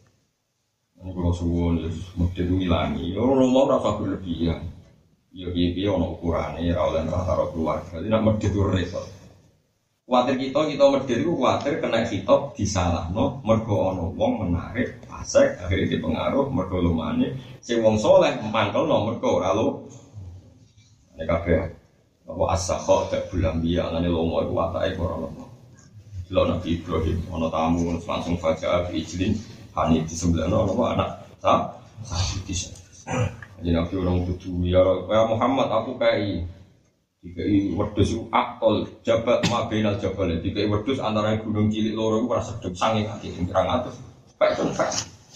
S2: ini kalau suwon, mesti itu hilangi. Orang mau rasa berlebihan. Ya biaya ono ukurannya, rawlen rata rata keluarga. Jadi nak mesti itu repot. Kuatir kita, kita mesti itu kuatir kena hitop disalah. No, mergo ono wong menarik, pasek, akhirnya dipengaruh, mergo lumane. Si wong soleh mangkel no mergo ralo. Ini kabeh. Bahwa as-sakho tak bulan biya, ngane lomo itu watai korang lomo. Lo Nabi Ibrahim, ono tamu langsung fajar ijlin. Hani di sebelah no, nama anak tak sah di sana. Jadi Nabi orang tujuh ya, ya Muhammad aku kai, dikai wedus akol jabat mabinal jabal, dikai wedus antara gunung cilik loro itu rasa sedep sanging hati yang kurang atas, baik pun baik.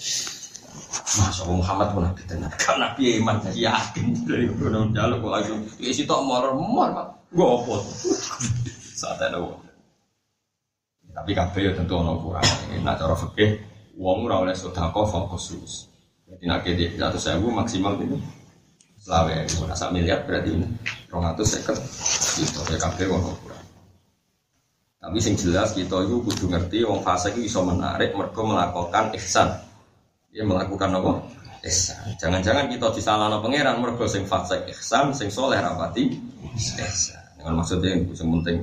S2: Masya Allah Muhammad pun Nabi tenar, kan Nabi iman saya yakin dari gunung jaluk kok langsung, isi tak mor mor, gue opot saat ada wong. Tapi kabeh ya tentu ono kurang, nak cara fikih. Wong ora oleh sedekah fokus. Jadi nek iki seratus ribu maksimal itu selawe ora sak miliar berarti dua ratus lima puluh gitu ya kabeh wong kurang. Tapi sing jelas kita itu kudu ngerti wong fasik iso menarik mergo melakukan ihsan. Dia melakukan apa? Ihsan. Jangan-jangan kita disalahno pangeran mergo sing fasik ihsan, sing saleh rapati ihsan. Dengan maksudnya yang penting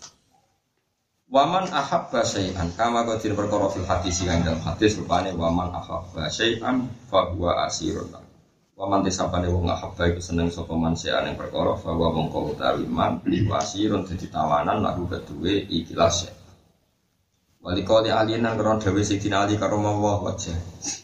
S2: waman ahabba syai'an kama qadir perkara fil hadis sing dalam hadis rupane waman ahabba syai'an fa huwa asirun. Waman disapane wong ahabba iku seneng sapa man syai'an ing perkara fa huwa mongko utawi man asirun dadi tawanan lagu keduwe ikhlas. Walikali alina karo dhewe Sidina Ali karo Allah wajah.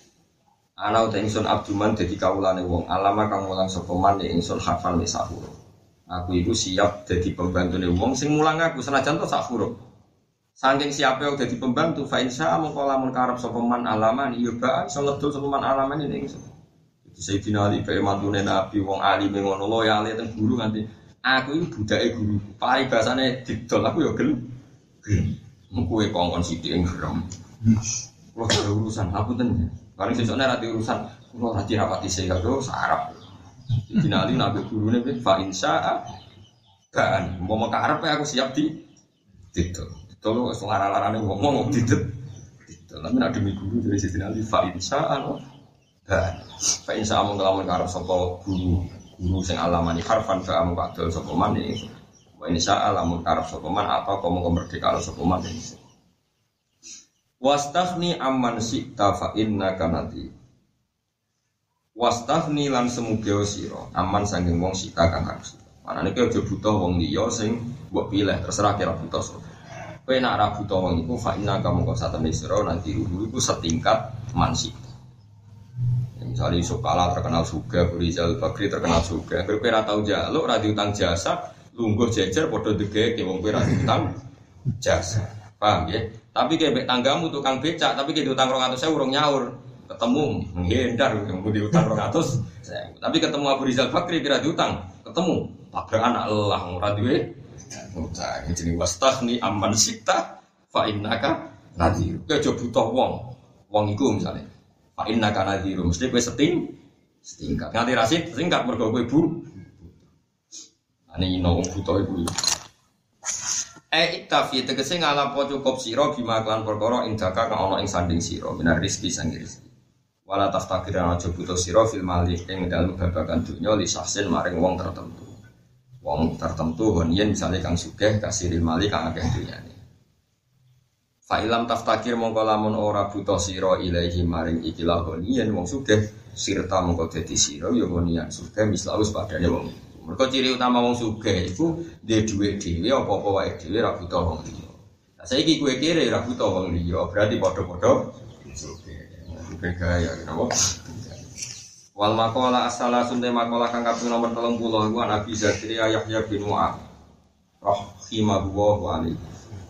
S2: Ana uta ingsun abduman dadi kawulane wong alama kang mulang sapa man ingsun hafal misahur. Aku iku siap dadi pembantune wong sing mulang aku senajan to sak huruf. Saking siapa yang jadi pembantu, fa insya Allah lamun karep sapa man alaman, iya ba iso ngedol sapa man alaman ini ingsun. Jadi Sayyidina Ali bae mantune Nabi wong alim ngono loyal ten guru nganti aku iki budake guru. Pai bahasane didol aku ya gelem. Gelem. Kowe kongkon sithik ing gerem. Kulo ada urusan aku ten. Paling sesuk nek ati urusan kulo ati rapati sing karo sarap. Sayyidina Ali nabi gurune fa insya kan mau karep aku siap di didol. Tolong selara-larane ngomong didet. Tapi nek demi guru dari Sidin Ali fa insa'an dan fa insa'an ngelamun karo sapa guru guru sing alamani harfan fa amu kadol sapa man iki. Wa insa'an lamun karo sapa man apa komo merdeka sapa man iki. Wastaghni amman syi'ta fa innaka nati. Wastaghni lan semuge sira aman sanging wong sika kang harus. Manane ki aja butuh wong liya sing mbok pilih terserah kira butuh sapa. Kowe nak ra buta wong iku fa inna kamu kok satene sira nanti ruhu iku setingkat mansik. Misalnya Yusuf Kala terkenal suga, Rizal Bakri terkenal suga. Kowe ora tau njaluk ra diutang jasa, lungguh jejer padha degeke wong kowe ra diutang jasa. Paham ya? Tapi kebek tanggamu tukang becak, tapi ke diutang dua ratus ribu urung nyaur. Ketemu menghindar yang diutang dua ratus ribu. Tapi ketemu Abu Rizal Bakri kira diutang, ketemu tabrak anak lelah ora duwe utang. Jenenge wastaghni amman sita fa innaka nadhir. Kowe aja butuh wong. Wong iku misale fa innaka nadhir mesti kowe seting setingkat. Nganti rasid setingkat mergo kowe bu. Ane ino wong buta iku. Eh iktafi tegese ngalapo cukup sira bima klan perkara indaka kang ana ing sanding sira minar rezeki sang rezeki. Wala taftakir aja butuh sira fil mali ing dalem babagan dunya li sahsin maring wong tertentu. Wong tertentu honien misale kang sugih kasiril mali kang akeh dunyane. Fa ilam taftakir mongko lamun ora butuh sira ilahi maring ikilah honien wong sugih sirta mongko dadi sira ya honien sugih mislaus padane wong. Mergo ciri utama wong sugih iku duwe dhuwit dhewe apa-apa wae dhewe ra butuh wong liya. Lah saiki kowe kere ra butuh wong liya, berarti padha-padha sugih. Bukan gaya napa? Wal maqala asala sunte maqala kang kaping nomor tiga puluh iku Nabi Zakaria Yahya bin Mu'adz rahimahullahu alaihi.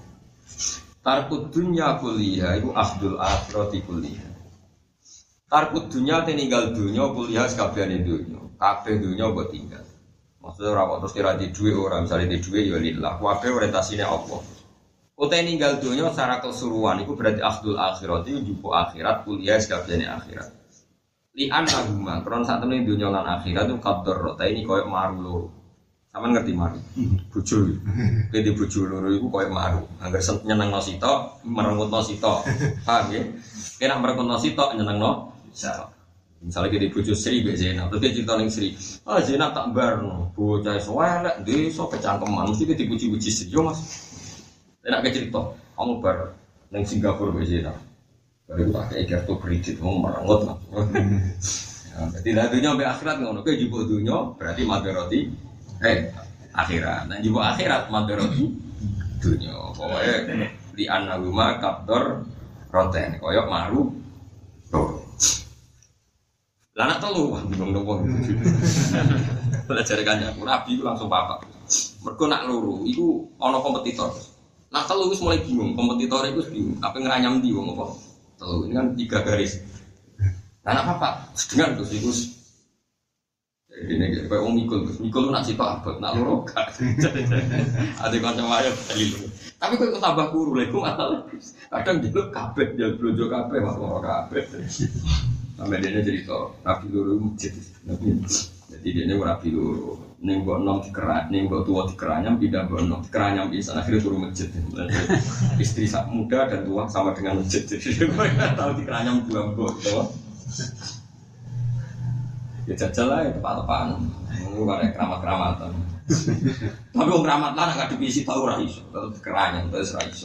S2: Tarkud dunya kuliah iku akhdul akhirati kuliah. Tarkud dunya te ninggal dunya kuliah sakabehane dunya. Kabeh dunya mbok tinggal. Maksudnya ora kok terus kira di dhuwit ora, misale di dhuwit ya lillah. Kabeh orientasine Allah. Utai ninggal dunya secara keseluruhan iku berarti akhdul akhirati njupuk akhirat kuliah sakabehane akhirat. Li anahuma kron sak temene dunya lan akhirat itu qadar rota ini koyo maru loro. Sampeyan ngerti maru? Bojo. Kowe di bojo loro iku koyo maru. Angger nyenengno sitok, merengutno sitok. Paham ya? Kena merengutno sitok nyenengno sitok. Misalnya kita di bojo Sri mbek Zainab, terus dia cerita ning Sri. Ah Zainab tak barno, bocah elek desa kecangkeman mesti kita dipuji-puji Sri yo Mas. Nek cerita, kamu bar ning Singapura mbek Zainab. Baru tak kayak kartu kredit, mau merengut lah. Jadi lah dunia sampai akhirat ngono, kayak jumbo dunia berarti materoti, eh akhirat. Nah jumbo akhirat materoti dunia. Pokoknya di anaguma kaptor roten, koyok maru, roh. Lana telu, bingung dong. Belajar kannya, Nabi itu langsung papak. Mereka nak luru, itu ono kompetitor. Nah telu itu mulai bingung, kompetitor itu bingung. Apa ngeranyam di wong apa? Telu ini kan tiga garis. Anak apa? Dengan terus itu. Ini kayak orang mikul, mikul lu nak situ abot, nak loro gak. Ada macam ayat tadi. Tapi kok ikut tambah kuru, lagi masalah. Kadang jelek kabeh, jelek blojo kabeh, mas loro kabeh. Sampai dia cerita, rapi loro masjid. Jadi dia rapi loro. Neng buat nom dikeran, neng buat tua dikeranyam, pindah buat nom dikeranyam bisa akhirnya turun masjid. Istri muda dan tua sama dengan masjid. Jadi gue nggak tahu dikeranyam dua buat. Ya jajal lah, ya tepat-tepatan. Ini ada keramat-keramatan. Tapi orang keramat lah nggak dipisi tahu raiso, tetap dikeranyam terus raiso.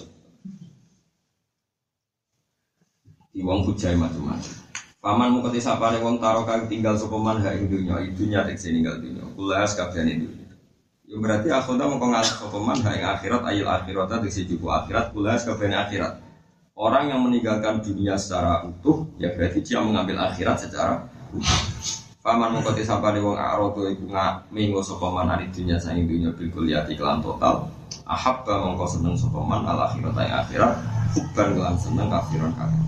S2: Di wong hujai macam-macam. Paman mukati sapane wong taro kang tinggal sopeman ha ing dunya, idunya tek ninggal dunya. Kulas kabehane dunya. Ya berarti akhirnya mongko ngalih sopeman ha ing akhirat ayil akhirat tek jubu akhirat, kulas kabehane akhirat. Orang yang meninggalkan dunia secara utuh, ya berarti dia mengambil akhirat secara utuh. Paman mukati sapane wong arodo iku ngaminggo sopeman ari dunya saing dunya bil kulliyati kelan total. Ahabba mongko seneng sopeman al akhirat ing akhirat, hubban lan seneng akhirat kabeh.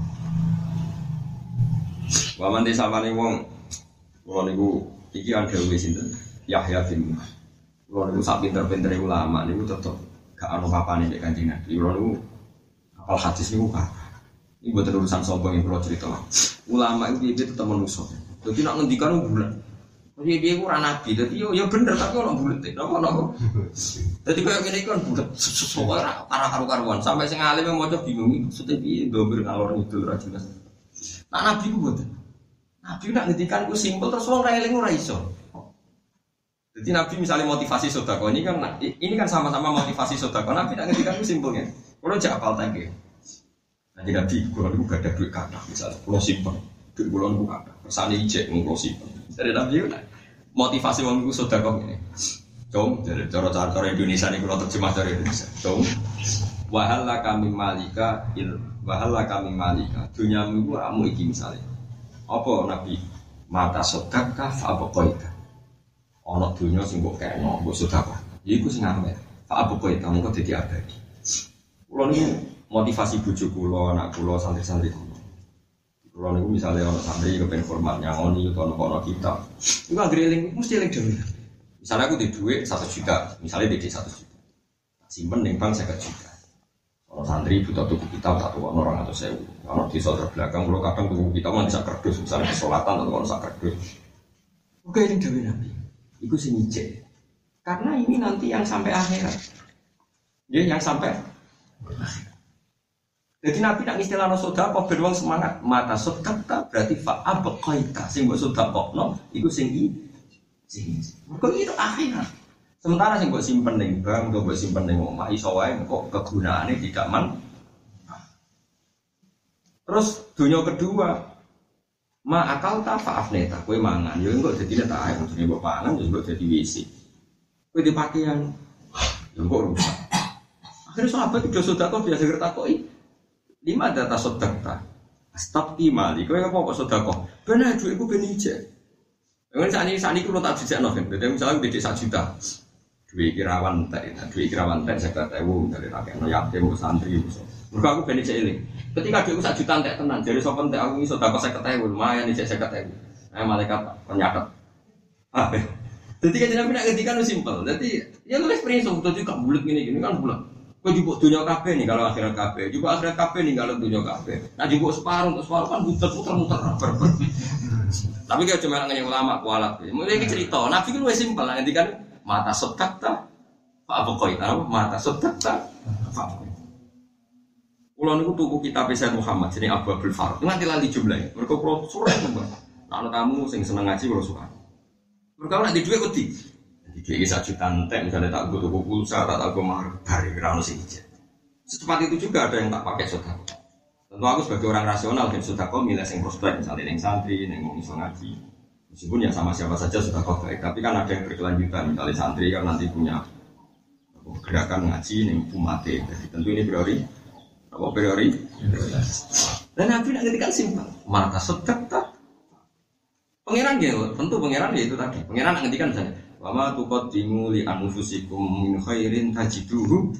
S2: Waman di samane wong kula niku iki kan dawuh sinten Yahya bin Mu'adz. Kula niku sak pinter-pintere ulama niku tetep gak ono papane nek Kanjeng Nabi. Kula niku apal hadis niku kan. Iki mboten urusan sombong yang kula cerita. Ulama iki piye tetep manusa. Dadi nek ngendikan bulat. Piye piye ku ora nabi. Dadi yo yo bener tapi ono bulet. Napa napa. Dadi koyo ngene iki kan bulet. Ora ora karo-karuan sampai sing alim maca bingung maksudnya piye ndomir ngalor ngidul ra jelas. Nah nabi ku mboten. Nabi nak ngendikan ku simpel terus wong ra eling ora iso. Jadi Nabi misalnya motivasi sedekah ini kan ini kan sama-sama motivasi sedekah. Nabi nak ngendikan ku simpelnya. Kulo jak apal tangke. Nanti Nabi kulo niku gak ada duit kathah misalnya kulo simpen. Duit kulo niku kathah. Kersane ijek kulo simpen. Dari Nabi ku motivasi wong niku sedekah ngene. Cung, dari cara-cara Indonesia niku kulo terjemah dari Indonesia. Cung. Wahala kami malika il wahala kami malika. Dunyamu ku ramu iki misalnya. Apa Nabi mata sedekah fa abqaita. Ana dunya sing mbok kena, mbok sedekah. Iku sing amer. Fa abqaita mengko dadi abadi. Kula niku motivasi bojo kula, anak kula, santri-santri kula. Kula niku misale ana santri kepen formal nyangoni utawa ana kitab. Iku anggere eling mesti eling dhewe. Misale aku di dhuwit satu juta, misale di satu juta. Simpen ning bank seket juta. Kalau santri butuh tuku kitab satu orang atau sewu. Kalau di soal terbelakang, kalau kadang tuku kitab nggak bisa kerdus, misalnya kesolatan atau kalau bisa kerdus. Oke ini dewi nabi, itu sini cek. Karena ini nanti yang sampai akhirat, ya yang sampai. Jadi nabi nak istilah soda kok beruang semangat mata sodakta berarti fa'a bekoita sing buat soda kok no, itu sing i, sing kok itu akhirat. Sementara sing buat simpen neng bank, atau buat simpen neng omah, iso wae kok kegunaannya tidak man. Terus dunia kedua, ma akal ta faafneta, kue mangan, ya enggak jadi neta air, maksudnya buat pangan, ya enggak jadi wisi. Kue di pakaian, ya enggak rusak. Akhirnya sahabat itu sudah kok biasa kertakoi, lima data sodakta, stop imali, kue apa kok sudah kok, benar duit gue benije. Yang saat ini saat ini kalau tak dijak novel, jadi misalnya beda satu juta. Dua kirawan teh, dua kirawan teh saya kata ibu dari rakyat no yatim santri ibu. Mereka aku beli cek ini. Ketika dia satu juta teh tenan, jadi sopan teh aku ini sudah kau saya kata ibu lumayan nih saya kata ibu. Nah malaikat penyakat. Ah, jadi kan nabi nak ketika nu simpel. Jadi ya lu experience untuk juga bulat gini gini kan bulat. Kau juga dunia kafe nih kalau akhirat kafe, juga akhirat kafe nih kalau dunia kafe. Nah juga separuh untuk separuh kan muter muter muter berber. Tapi kalau cuma ngomongin ulama kualat, mulai cerita. Nabi kan lebih simpel, nanti kan mata sodakta, pak Bukhari tahu mata sodakta, pak. Ulang itu tuku kitab Sayyid Muhammad, jadi Abu Abdul Farad. Nanti lali jumlahnya. Mereka pro surah itu bang. Nah tamu sing seneng ngaji kalau suka. Mereka nanti duit kuti. Nanti duit satu juta ente, misalnya tak gue tuku pulsa, tak tak gue mahar dari kerana sing ijat. Secepat itu juga ada yang tak pakai sodako. Tentu aku sebagai orang rasional dan sodako milih yang prospek, misalnya yang santri, yang mau iso ngaji. Meskipun ya sama siapa saja sudah kau baik, tapi kan ada yang berkelanjutan. Misalnya santri kan nanti punya gerakan ngaji yang umate, jadi tentu ini priori, apa priori? Dan Nabi nak ngerti kan simpel, mata sedek tak. Pangeran dia, tentu pangeran dia itu tadi. Pangeran nak ngerti kan misalnya, wama tuqaddimu li anfusikum min khairin tajiduhu.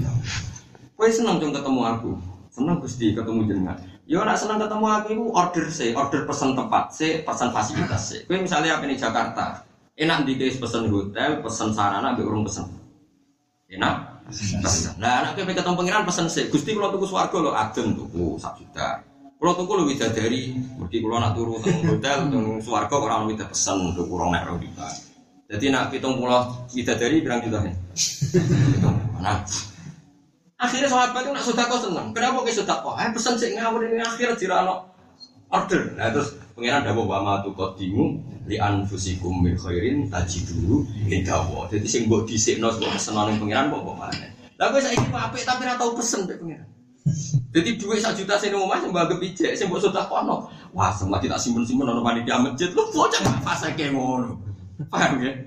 S2: Kau senang dong ketemu aku, senang gusti ketemu jenengan. Yo nak senang ketemu aku itu order sih, order pesan tempat sih, pesan fasilitas sih. Kau misalnya apa di Jakarta, enak dikis pesan hotel, pesan sarana, ambil urung pesan. Enak, pesan. Nah, anak kau ketemu pangeran pesan sih. Gusti kalau tuku swarga lo adem tuku satu juta. Kalau tuku lo bisa dari, berarti kalau nak turu teng hotel, teng swarga orang bisa pesan untuk urung naik juta. Jadi nak hitung pulau bisa dari berang juta nih. Nah. Akhirnya sahabat itu nak sedekah seneng. Kenapa ke sedekah? Eh pesan sik ngawur ini akhir dirano order. Nah terus pengiran dawuh wa ma tuqaddimu li anfusikum min khairin tajiduhu indahu. Jadi sing mbok dhisikno mbok pesenane pengiran kok kok maneh. Lah kowe saiki apik tapi ora tau pesen pek pengiran. Jadi duit satu juta sing omah sing mbok ijek sing mbok sedekahno. Wah, semua tak simpen-simpen ono panitia masjid. Lu bocah fasake ngono. Paham ya?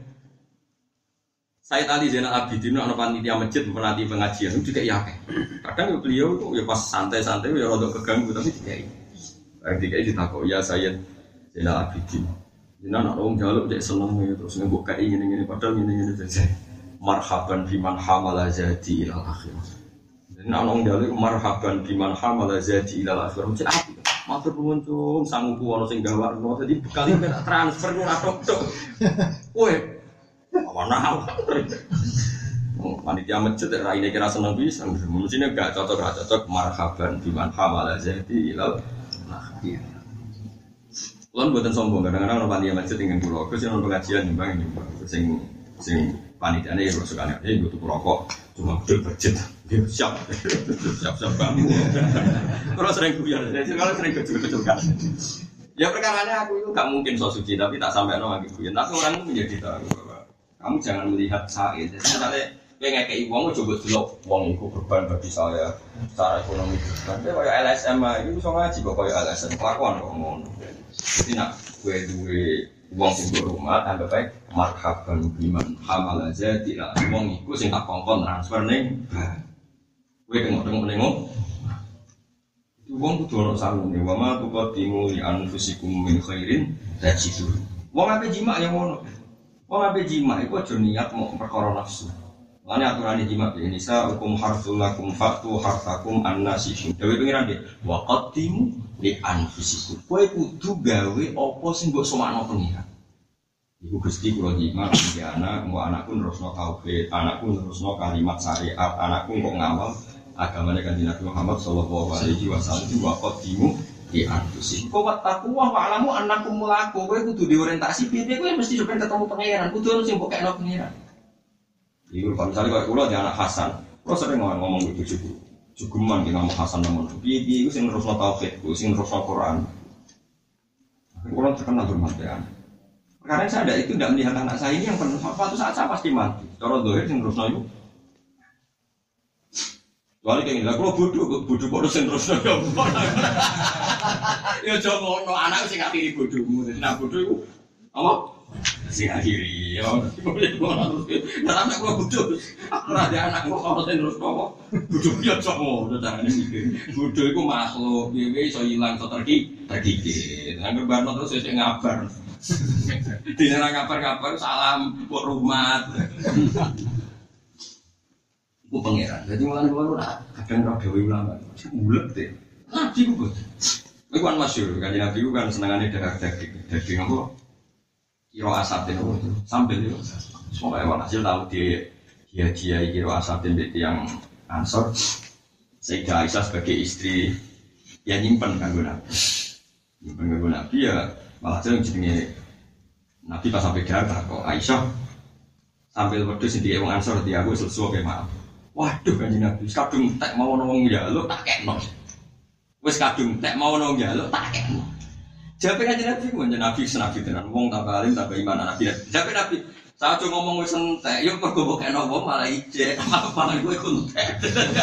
S2: Sayyid Ali Zainal Abidin ana panitia masjid menanti pengajian itu juga yakin. Kadang beliau itu ya pas santai-santai ya rada keganggu tapi dikai. Bareng dikai ditakok ya Sayyid Zainal Abidin. Jenengan ana wong njaluk cek seneng terus ngembok kae ngene-ngene padahal ngene-ngene saja. Marhaban biman hamala zati ilal akhirah. Jenengan ana wong njaluk marhaban biman hamala zati ilal akhirah. Cek apik. Matur nuwun cung sanguku ana sing gawakno dadi bekal tak transfer ora tok-tok. Kowe mana? Panitia masjid raine kira seneng pisan. Mestinya gak cocok gak cocok marhaban biman hamala zati ilal akhir. Kulon mboten sombong kadang-kadang ono panitia masjid dengan kula. Gus yen pengajian nyumbang nyumbang sing sing panitiane ya sukane eh butuh rokok cuma gede budget. Siap. Siap-siap banget. Kalau sering guyon, kalau sering kecil-kecilkan. Ya perkaranya aku itu gak mungkin so suci tapi tak sampai no lagi guyon. Tapi orang itu menjadi tahu bahwa kamu jangan melihat saya. Jadi misalnya pengen kayak uang, coba dulu uang itu berban bagi saya secara ekonomi. Tapi kayak L S M itu bisa ngaji kok kayak L S M kelakuan kok ngono. Jadi nak gue duwe uang sing rumah, anggap baik marhaban biman hamal aja tidak uang itu sing tak kongkon transfer ning. Gue tengok-tengok nengok. Uang itu ono sanune, wa ma tuqaddimu li anfusikum min khairin tajidu. Wong ape jima yang ngono. Wong ape jima iku aja niat mau perkara nafsu. Lane aturane jima iki nisa hukum harsul lakum fatu hartakum annasihin. Dewe pengiran nggih, wa qaddimu li anfusikum. Kowe kudu gawe apa sing mbok somakno pengiran. Iku Gusti kula jima iki anak, mbok anakku nerusno tauhid, anakku nerusno kalimat syariat, anakku kok ngamal agamanya Kanjeng Nabi Muhammad sallallahu alaihi wasallam itu waqaddimu di anfusikum. Kok takwa wa alamu annakum mulaku kowe kudu diorientasi piye kowe mesti sampe ketemu pangeran, kudu ono sing mbok kekno pangeran. Iku kalau misalnya kalau kula di anak Hasan, kula sering ngomong gitu juga. Juguman ki ngomong Hasan namun piye-piye iku sing nerusno tauhid, sing nerusno Quran. Kula terkenal bermanfaat. Karena saya ada itu tidak melihat anak saya ini yang penuh suatu saat saya pasti mati. Cara dohir sing terusno iku. Soalnya kayak gini, kalau bodoh, bodoh kok terus terusno ya. Ya jangan ngono anak sing akhiri bodohmu. Jadi nak bodoh iku apa? Sing akhiri ya. Nah anak kula bodoh. Ora ada anak kok ora terus apa. Bodoh ya cok, carane mikir. Bodoh iku makhluk, piye iso ilang iso terki, terkikir. Nang barno terus sing ngabar. Dene ra ngabar-ngabar salam kok rumah. Ku pangeran. Dadi mulane kula ora kadang ora dhewe ulama. Bulet deh. Nabi ku boten. Iku kan masyhur, kan Nabi ku kan senengane daging. Daging apa? Kiro asatin itu sambil itu. Semoga hasil tahu di dia-dia kiro asatin itu yang Ansor. Sayyidah Aisyah sebagai istri ya nyimpen kanggo Nabi. Nyimpen kanggo Nabi ya malah jenenge Nabi pas sampai Jakarta kok Aisyah sambil wedhus ndike wong Ansor di aku sesuatu kayak maaf. Waduh Kanjeng Nabi, kadung tek mau wong njaluk tak kekno. Wis kadung tek mau wong njaluk tak kekno. Jape Kanjeng Nabi ku njen Nabi senabi tenan wong tambah alim tambah iman Nabi. Jape Nabi, saat ngomong wis entek, yo mergo kekno wong malah ijek, malah kowe kuntek.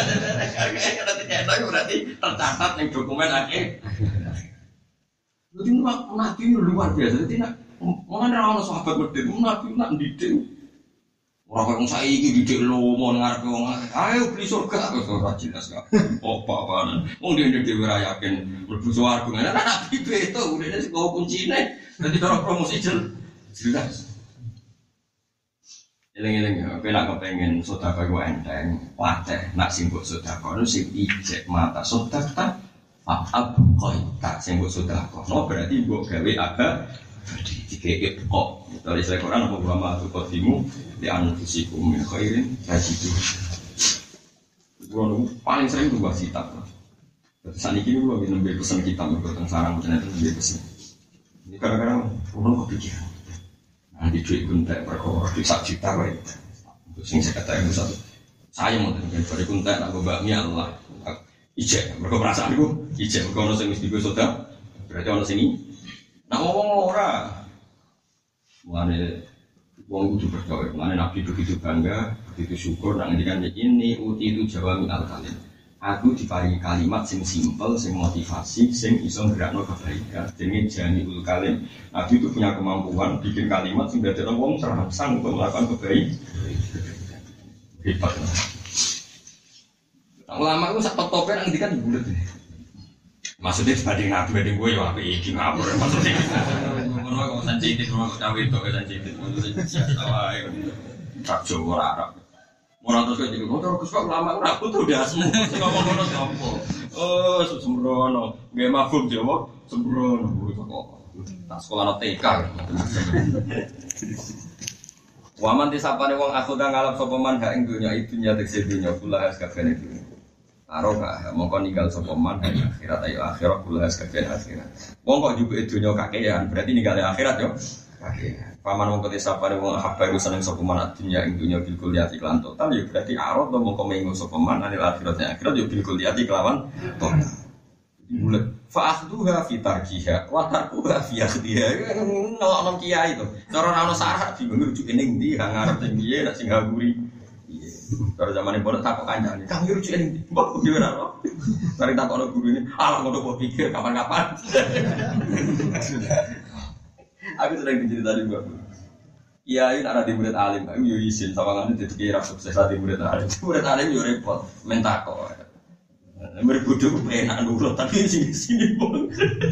S2: Berarti tercatat ning dokumen akeh. Jadi Nabi luar biasa, jadi nak mana orang sahabat berdiri, Nabi nak didik. Orang orang saya ini didik lo mau ngarep orang, ayo beli surga, betul jelas kan? Oh apa-apaan, mau dia dia berayakin berbuat argumen, Nabi itu udah ada sebuah kuncinya, nanti orang promosi jelas. Eleng-eleng ya, kalau kepengen sodako itu enteng, wateh nak simbol sodako itu sing ijek mata sodako. Ab koi tak sembut sudah kok, no berarti buat gawe agak dikekek kok. Dari saya Quran apa ulama tu kotimu di anfusikum min khairin tajidu. Gua paling sering tuh bahas kitab. Saat ini gua lagi nambah pesan kitab tentang sarang macam itu nambah pesan. Ini kadang-kadang orang kepikiran. Nanti duit kuntek perkara di sak juta kau itu. Sing saya kata yang satu. Saya mau tanya dari kuntek nak gua bakmi Allah. Ijek, mereka perasaan itu ijek, mereka ada yang mesti gue soda berarti ada sini nak ngomong ora mulanya orang itu bergawe, mulanya Nabi begitu bangga begitu syukur, nak ngendikan ini uti itu jawami al-kalim aku diparingi kalimat sing simpel, sing motivasi, sing iso ngerakno kebaikan dengan jani ul-kalim Nabi itu punya kemampuan bikin kalimat sing dadekno wong terangsang untuk melakukan kebaikan hebat lah. Ulama itu sak top-topnya nang ngendikan bulet ini. Maksudnya dibanding Nabi banding gue ya apik iki ngapur maksudnya. Ngono kok sensitif kok cawe tok sensitif maksudnya biasa wae. Tak Jawa ora Arab. Ora terus kok ngono terus kok ulama ora butuh dasmu sing ngomong ngono sapa. Oh sembrono. Nggih mafhum Jawa sembrono kok. Tak sekolah T K. Waman disapane wong akhuda ngalap sapa man ha ing dunya idunya tekse dunya kula has kabeh iki. Aroga mongko ninggal sapa man akhirat ayo akhirat kula has kabeh akhirat. Wong kok juga dunya kakean berarti ninggal akhirat yo. Kakean. Paman wong disapane wong habba iku seneng sapa man dunya ing dunya bil kuliati lan total yo berarti arot mongko mengo sapa man anil akhirat akhirat yo bil kuliati kelawan total. Bulat fa'akhduha fi tarkiha wa tarkuha fi akhdiha ngelokno kiai to cara ana sarah bingung rujuke ning ndi ra ngarep ning piye nek sing ngaburi piye cara zamane pondok takok kancane kang rujuke ning ndi mbok dhewe ra ono cari takokno gurune alah ngono kok pikir kapan-kapan aku sering dicerita di mbak kiai nek ada murid alim aku yo isin sawangane dadi kiai ra sukses ati murid alim murid alim yo repot men takok berbodoh enak dulu tapi sini sini pun.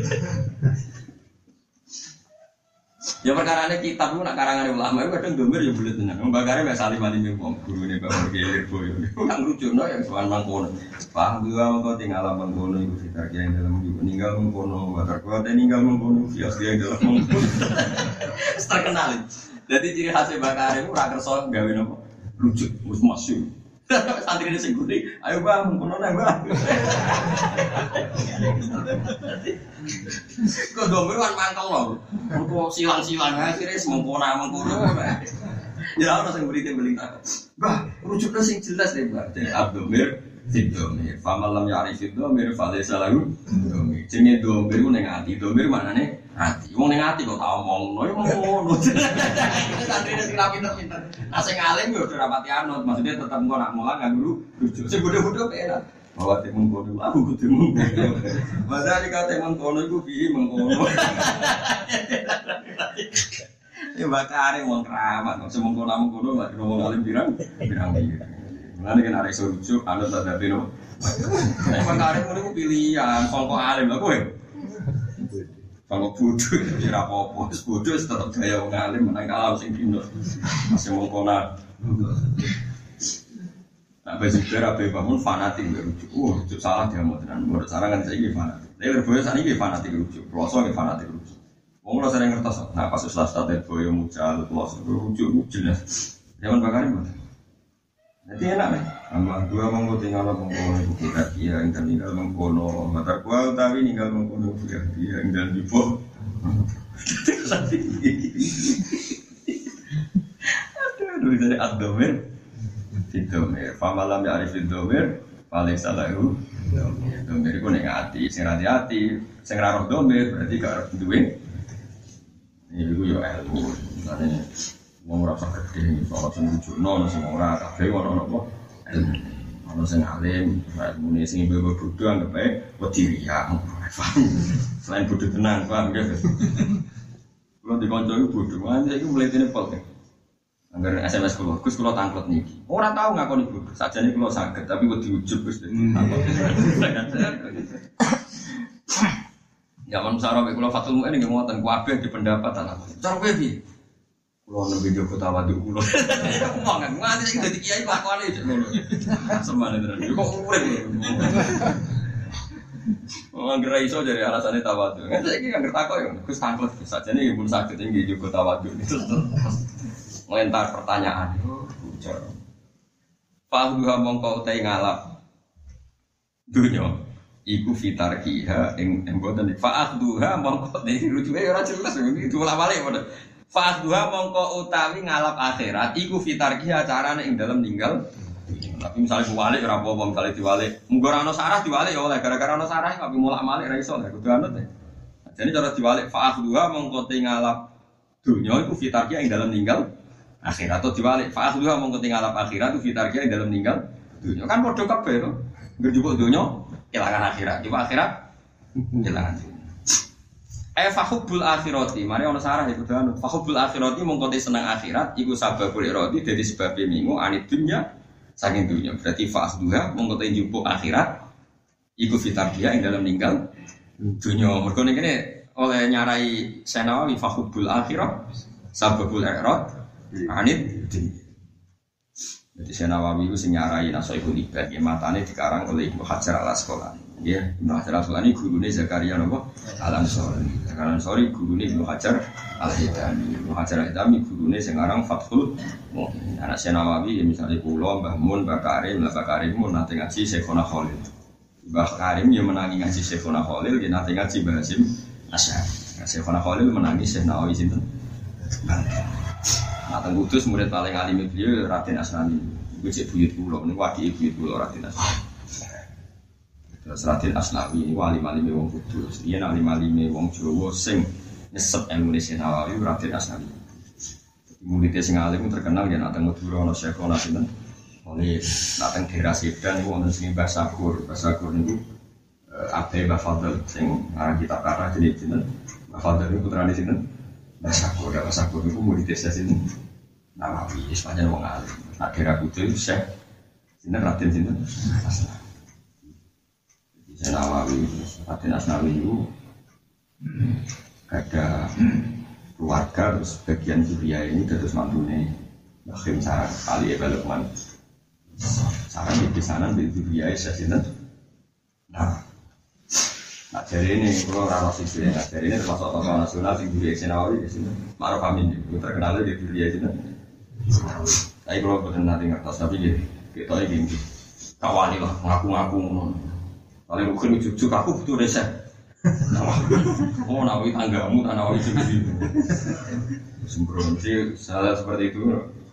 S2: Ya perkara ini kitab itu nak karangan ulama itu kadang domir ya boleh tenang. Membakarnya biasa lima lima ngomong guru ni bawa gelir boy. Orang lucu no yang soal mangkono. Paham juga kau tinggal mangkono itu kita yang dalam juga ninggal mangkono. Bapak kau ada ninggal mangkono fias yang dalam mangkono. Terkenal. Jadi ciri khasnya bakar itu raker soal gawe nopo lucu, mus masuk. Santri ini seguri, ayo bang, kono nih bang. Kau domir kan mangkel loh, kau silang-silang akhirnya semengkona mengkono. Ya orang yang beri tembeling tak, bah rujuknya sing jelas deh bah. Jadi abdomir, sidomir, famalam yari sidomir, falesa lagu, domir. Jenenge domir itu neng hati, domir mana nih hati. Wong neng hati kau tahu ngomong, no ngomong ngono. Santri ini sing pinter-pinter. Nah sing alim yo ora rapati anut, maksudnya tetap engko nak mulang nggak guru rujuk. Sing bodoh-bodoh penak. Bahwa temen kono aku kudu mengkono. Padahal dikate mengkono iku piye mengkono. Ya bakare wong keramat, semong kono-kono lak ngomong alim pirang, pirang iki. Mulane kan arek iso rujuk anut adabe no. Nek bakare ngono iku pilihan, sangko alim lho kowe. Kalau bodoh, tidak apa-apa. Bodoh tetap gaya wong alim menang kalah sing dino. Masih mengkona. Nah, baju berapa bangun fanatik berujuk. Oh, rujuk salah dia mau tenan. Menurut salah kan saya ini fanatik. Tapi berboyo saat ini fanatik rujuk. Puasa ini fanatik rujuk. Wong lo sering ngertos. Nah, pas setelah start berboyo mucal, puasa rujuk jelas. Zaman bakarin mana? Jadi enak nih. Amal dua monggo tinggal mengkono ibu kita dia yang tinggal mengkono. Mata kual tapi tinggal mengkono dia dia tinggal di bawah. Aduh, aduh dari abdomen, abdomen. Famalam ya arif abdomen, paling salah itu. Abdomen itu neng hati, sing hati-hati, sing raroh abdomen berarti gak duit. Ini itu yo ilmu, misalnya. Wong ora sak gede, ora sing rujukno, sing ora kabeh ora apa. Ana sing alim, ilmune sing ibu bodho anggap ae wedi riya. Selain bodho tenang, paham ya. Kulo dikonco iku bodho, mane iki mletene pol. Angger S M S kulo, Gus kulo tangklet niki. Ora tau ngakoni bodho, sajane kulo saged tapi wedi ujug Gus. Zaman sarong kulo Fatul Mu'in nggih ngoten, kabeh di pendapat ana. Cara kowe piye? Kulo nembe Joko tawadhu kulo. Ngomong kan, nganti iki dadi kiai lakone cek ngono. Semane tenan. Kok urip. Wong ora iso jare alasane tawadhu. Nganti iki kan takok yo, Gus tanglet sajane nggih pun saged nggih Joko tawadhu. Ngentar pertanyaan. Bocor. Fahduha mongko utai ngalap. Dunya iku fitarkiha ing mboten fa'duha mongko dirujuke ora jelas iki diulang-alik padha. Fa'duha mongko utawi ngalap akhirat iku fitarki acarane ing dalem ninggal. Tapi misalnya diwalik ora apa-apa, misalnya diwalik. Munggo ora ana sarah diwalik ya oleh gara-gara ana sarah tapi mulak-malik ra iso lha kudu anut ya. Jadi cara diwalik fa'duha mongko te ngalap dunya iku fitarki ing dalem ninggal akhirat atau diwalik fa'duha mongko te ngalap akhirat iku fitarki ing dalem ninggal dunya. Kan padha kabeh to. Ngerjupuk dunya kelangan akhirat, coba akhirat kelangan dunya. Eh fahubbul akhirati, mari ana sarah iku danu. Fahubbul akhirati mongko te seneng akhirat iku sababul iradi dadi sebab mingu anid dunya saking dunya. Berarti fa'duha mongko te njupuk akhirat iku fitarbiya ing dalam ninggal dunya. Mergo ngene oleh nyarai Senawi fahubbul akhirat sababul irad anid dunya. Jadi Senawi itu sing nyarai Nasaihul Ibad nggih matane dikarang oleh Ibnu Hajar Al-Asqalani. Ya, Ibnu Hajar Al-Asqalani gurune Zakaria napa? Al-Ansori. Zakaria Al-Ansori gurune Ibnu Hajar Al-Hitami. Ibnu Hajar Al-Hitami gurune sing aran Fathul Mu'in. Anak Senawi ya misalnya kula Mbah Mun, Mbah Karim, Mbah Karim mun nate ngaji Syekhona Khalil. Mbah Karim ya menangi ngaji Syekhona Khalil, ya nate ngaji Mbah Hasyim Asy'ari. Syekhona Khalil menangi Syekh Nawawi sinten? Nah, teng Kudus murid paling alim beliau Raden Asnani. Iku cek buyut kula, niku wadike buyut kula Raden Asnani. Terus Raden Asnawi niku alim-alime wong Kudus. Yen alim-alime wong Jawa sing nyesep ilmune Nawawi Raden Asnani. Murid sing alim terkenal yen teng Madura ana Syekh ana sinten. Oleh dateng daerah Sidan niku wonten sing Mbah Sakur. Mbah Sakur niku Abdul Mbah Fadl sing aran kitab kata jenenge sinten. Mbah Fadl niku putrane sinten? Mbah Sakur, Mbah Sakur niku murid desa sinten. Nawawi, istilahnya wong alim. Nak daerah Kudus Syekh sinten Raden sinten? Asnawi. Syekh Nawawi, Raden Asnawi itu ada keluarga terus bagian Suria ini terus mantune Bakhim Sarang kali Ebalukman. Sarang di sana di Suria Syekh sinten? Nah, nah jadi ini kalau rara sisi, nah jadi ini termasuk tokoh nasional di Suria Syekh Nawawi di sini. Maruf Amin, terkenal di Suria sinten? Tapi kalau betul nanti ngertos, tapi jadi Kita ini kawani lah, ngaku-ngaku ngono. Paling mungkin cucu aku butuh resep. Oh, nawi tanggamu, tanah nawi cucu. Sembrono sih, salah seperti itu.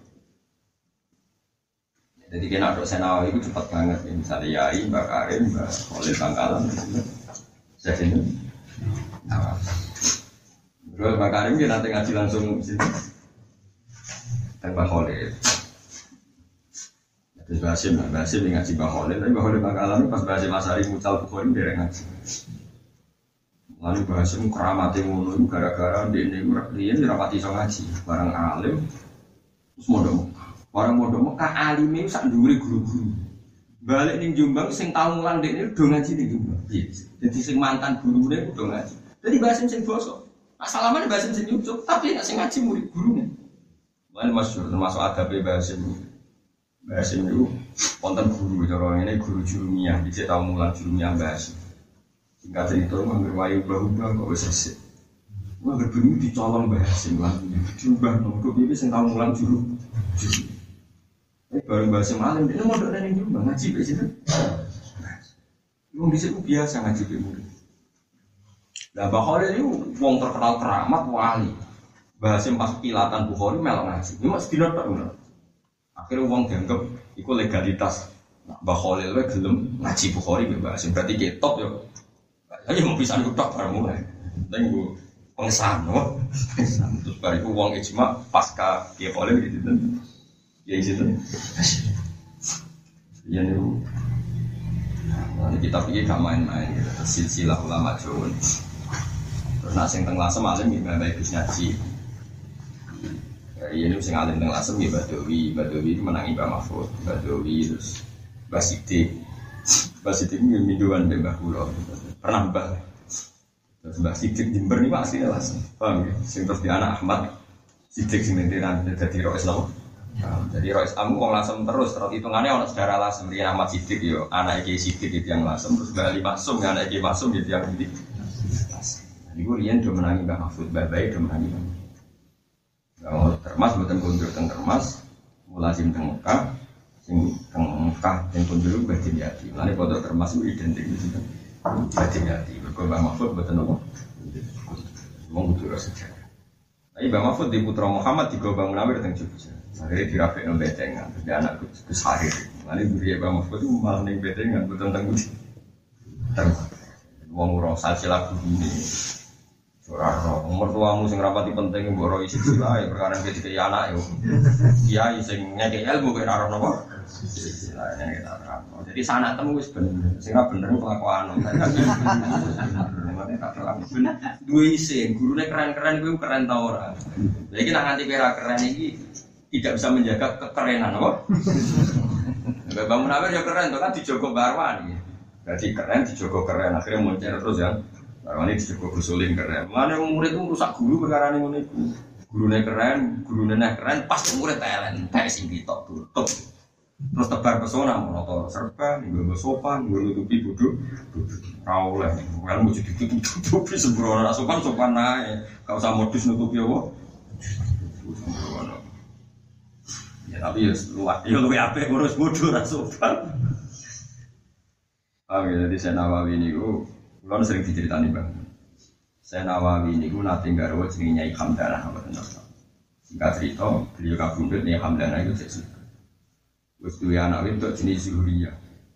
S2: Jadi kena dosen nawi itu cepat banget. Misalnya Yai, Mbak Karim, Mbak Khalil Bangkalan. Saya sini. Nah, terus Mbak Karim dia nanti ngaji langsung sini. Dan Mbak Khalil. Terus Basim, Basim yang ngaji Mbak Khalil, tapi Mbak Khalil Bangkalan pas Basim Asari mucal Bukhari dia ngaji. Lalu Basim keramati ngono itu gara-gara di ini dia dirapati so ngaji, barang alim, terus modal, barang modal Mekah alimnya sak dhuwure guru-guru. Balik ning Jombang sing tau mulang dek ini udah ngaji ning Jombang. Jadi sing mantan gurune udah ngaji. Jadi Basim sing bosok, asalaman Basim sing nyucuk, tapi nek sing ngaji murid gurune. Lan masyhur termasuk adabe Basim. Basim itu wonten guru cara ngene guru jurumiyah dicek tau mulang jurumiyah Basim. Singkat cerita mangger wayu ubah-ubah kok wis resik. Mangger bengi dicolong Basim lan diubah nomor piye sing tau mulang juru. Eh bareng Basim alim dene mondok ning Jombang ngaji wis itu. Wong dhisik biasa ngaji be murid. Lah Bukhari itu wong terkenal keramat wali. Basim pas kilatan Bukhari melok ngaji. Ini mas dina tok ngono. Akhirnya uang dianggap itu legalitas. Nah, Mbah Khalil itu gelem ngaji Bukhari bebas. Berarti ketop ya. Ayo mau bisa ngutak bareng mulai. Tapi gue pengesahan, no? Terus baru itu uang ijma pasca Kiai Khalil gitu. Ya gitu. Ya nih. Nanti kita pergi gak main-main. Gitu. Silsilah ulama Jawa. Terus nasi yang tengah semalam gimana baik ngaji. Ya ini sing alim teng Lasem ya Badawi, Badawi itu menangi Mbak Mahfud, Badawi terus Mbak Sidik. Mbak Sidik itu minduan Mbak Kula. Pernah Mbak. Terus Mbak Sidik Jember ini aslinya Lasem. Paham ya? Sing terus di anak Ahmad Sidik sing mentiran dadi Rois Lam. Jadi Rois Am wong Lasem terus terus hitungannya ana saudara Lasem Rian Ahmad Sidik yo, anak Ki Sidik itu yang Lasem terus Mbak Ali Maksum anak Ki Maksum itu yang di Lasem. Iku riyen do menangi Mbak Mahfud, Mbak Baik do menangi Mbak. Kalau termas buatan kunjur teng termas, mulazim teng Mekah, sing teng Mekah yang kunjur batin yati. Lalu foto termas itu identik itu batin yati. Berkorban Mahfud buatan apa? Mau butuh rasa sejarah. Tapi Bang Mahfud di Putra Muhammad di Gobang Munawir teng Jogja. Akhirnya dirafik nol betengan, terus anak Gus Harir. Lalu beri Bang Mahfud itu malah neng betengan buatan teng Budi. Teng Wong Urang salsilah ini. Ora umur tuamu sing rapati penting mbok ro isi silae perkara iki dikek anak yo. Kiai sing ngekek ilmu kok ora ono apa. Silae nek ora ono. Jadi sanak temu wis bener. Sing ora bener kelakuan. Mane tak terang ben duwe isi gurune keren-keren kuwi keren ta ora. Lah iki nek nganti kira keren iki tidak bisa menjaga kekerenan apa. Bang Munawir ya keren to kan dijogo Barwan iki. Berarti keren dijogo keren akhirnya muncul terus ya. Karena ini cukup gusulin keren. Mana murid itu rusak guru perkara ini ngono iku. Gurune keren, gurune nek keren pas murid talent, tek sing ditok tutup. Terus tebar pesona monotor serba, nggo sopan, nggo nutupi bodho. Ora oleh, ilmu jadi ditutupi sembrono sopan sopan ae. Enggak usah modus nutupi apa. Ya tapi ya luwih, ya luwih apik ngurus bodho ora sopan. Ah, jadi saya Nawawi niku kalau sering diceritani bang, saya Nawawi ini gue nanti garwo jenenge Nyai Hamdanah apa benar? Singkat cerita, beliau kabundut Nyai Hamdanah itu jadi, terus dua anak itu jenis Zuhuriyah.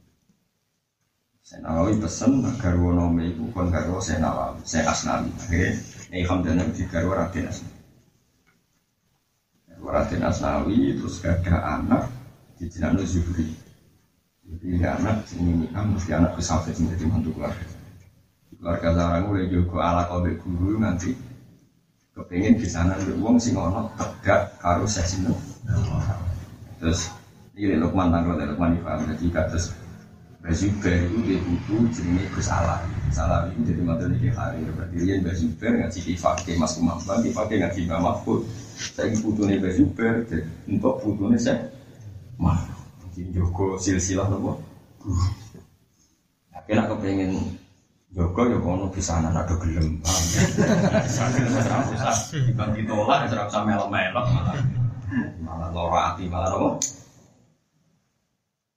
S2: Saya Nawawi pesen garwo nome itu kon garwo saya Nawawi, saya Asnawi. Akhirnya Nyai Hamdanah itu garwo Raden Asnawi. Garwo Raden Asnawi terus gada anak di jenano Zuhuri. Jadi anak ini kan mesti anak kesafet menjadi mantu keluarga. Keluarga sarang mulai juga ala kobek guru nanti kepengen di sana uang sing ono tegak karo sesino. Terus ini Lukman tanggal Lukman Ifam jadi terus Bazuber itu dia butuh jenenge Gus Ala. Salah itu jadi materi di hari berarti dia Bazuber ngaji dipakai Mas Kumambang dipakai ngaji Mbak Mahfud. Saya butuhnya Bazuber untuk butuhnya saya mah Joko silsilah nopo. Tapi nak kepengen Joko ya kono pisanan ada gelem. Pisanan ora usah dibang ditolak ora usah melok-melok malah. Malah lara ati malah apa?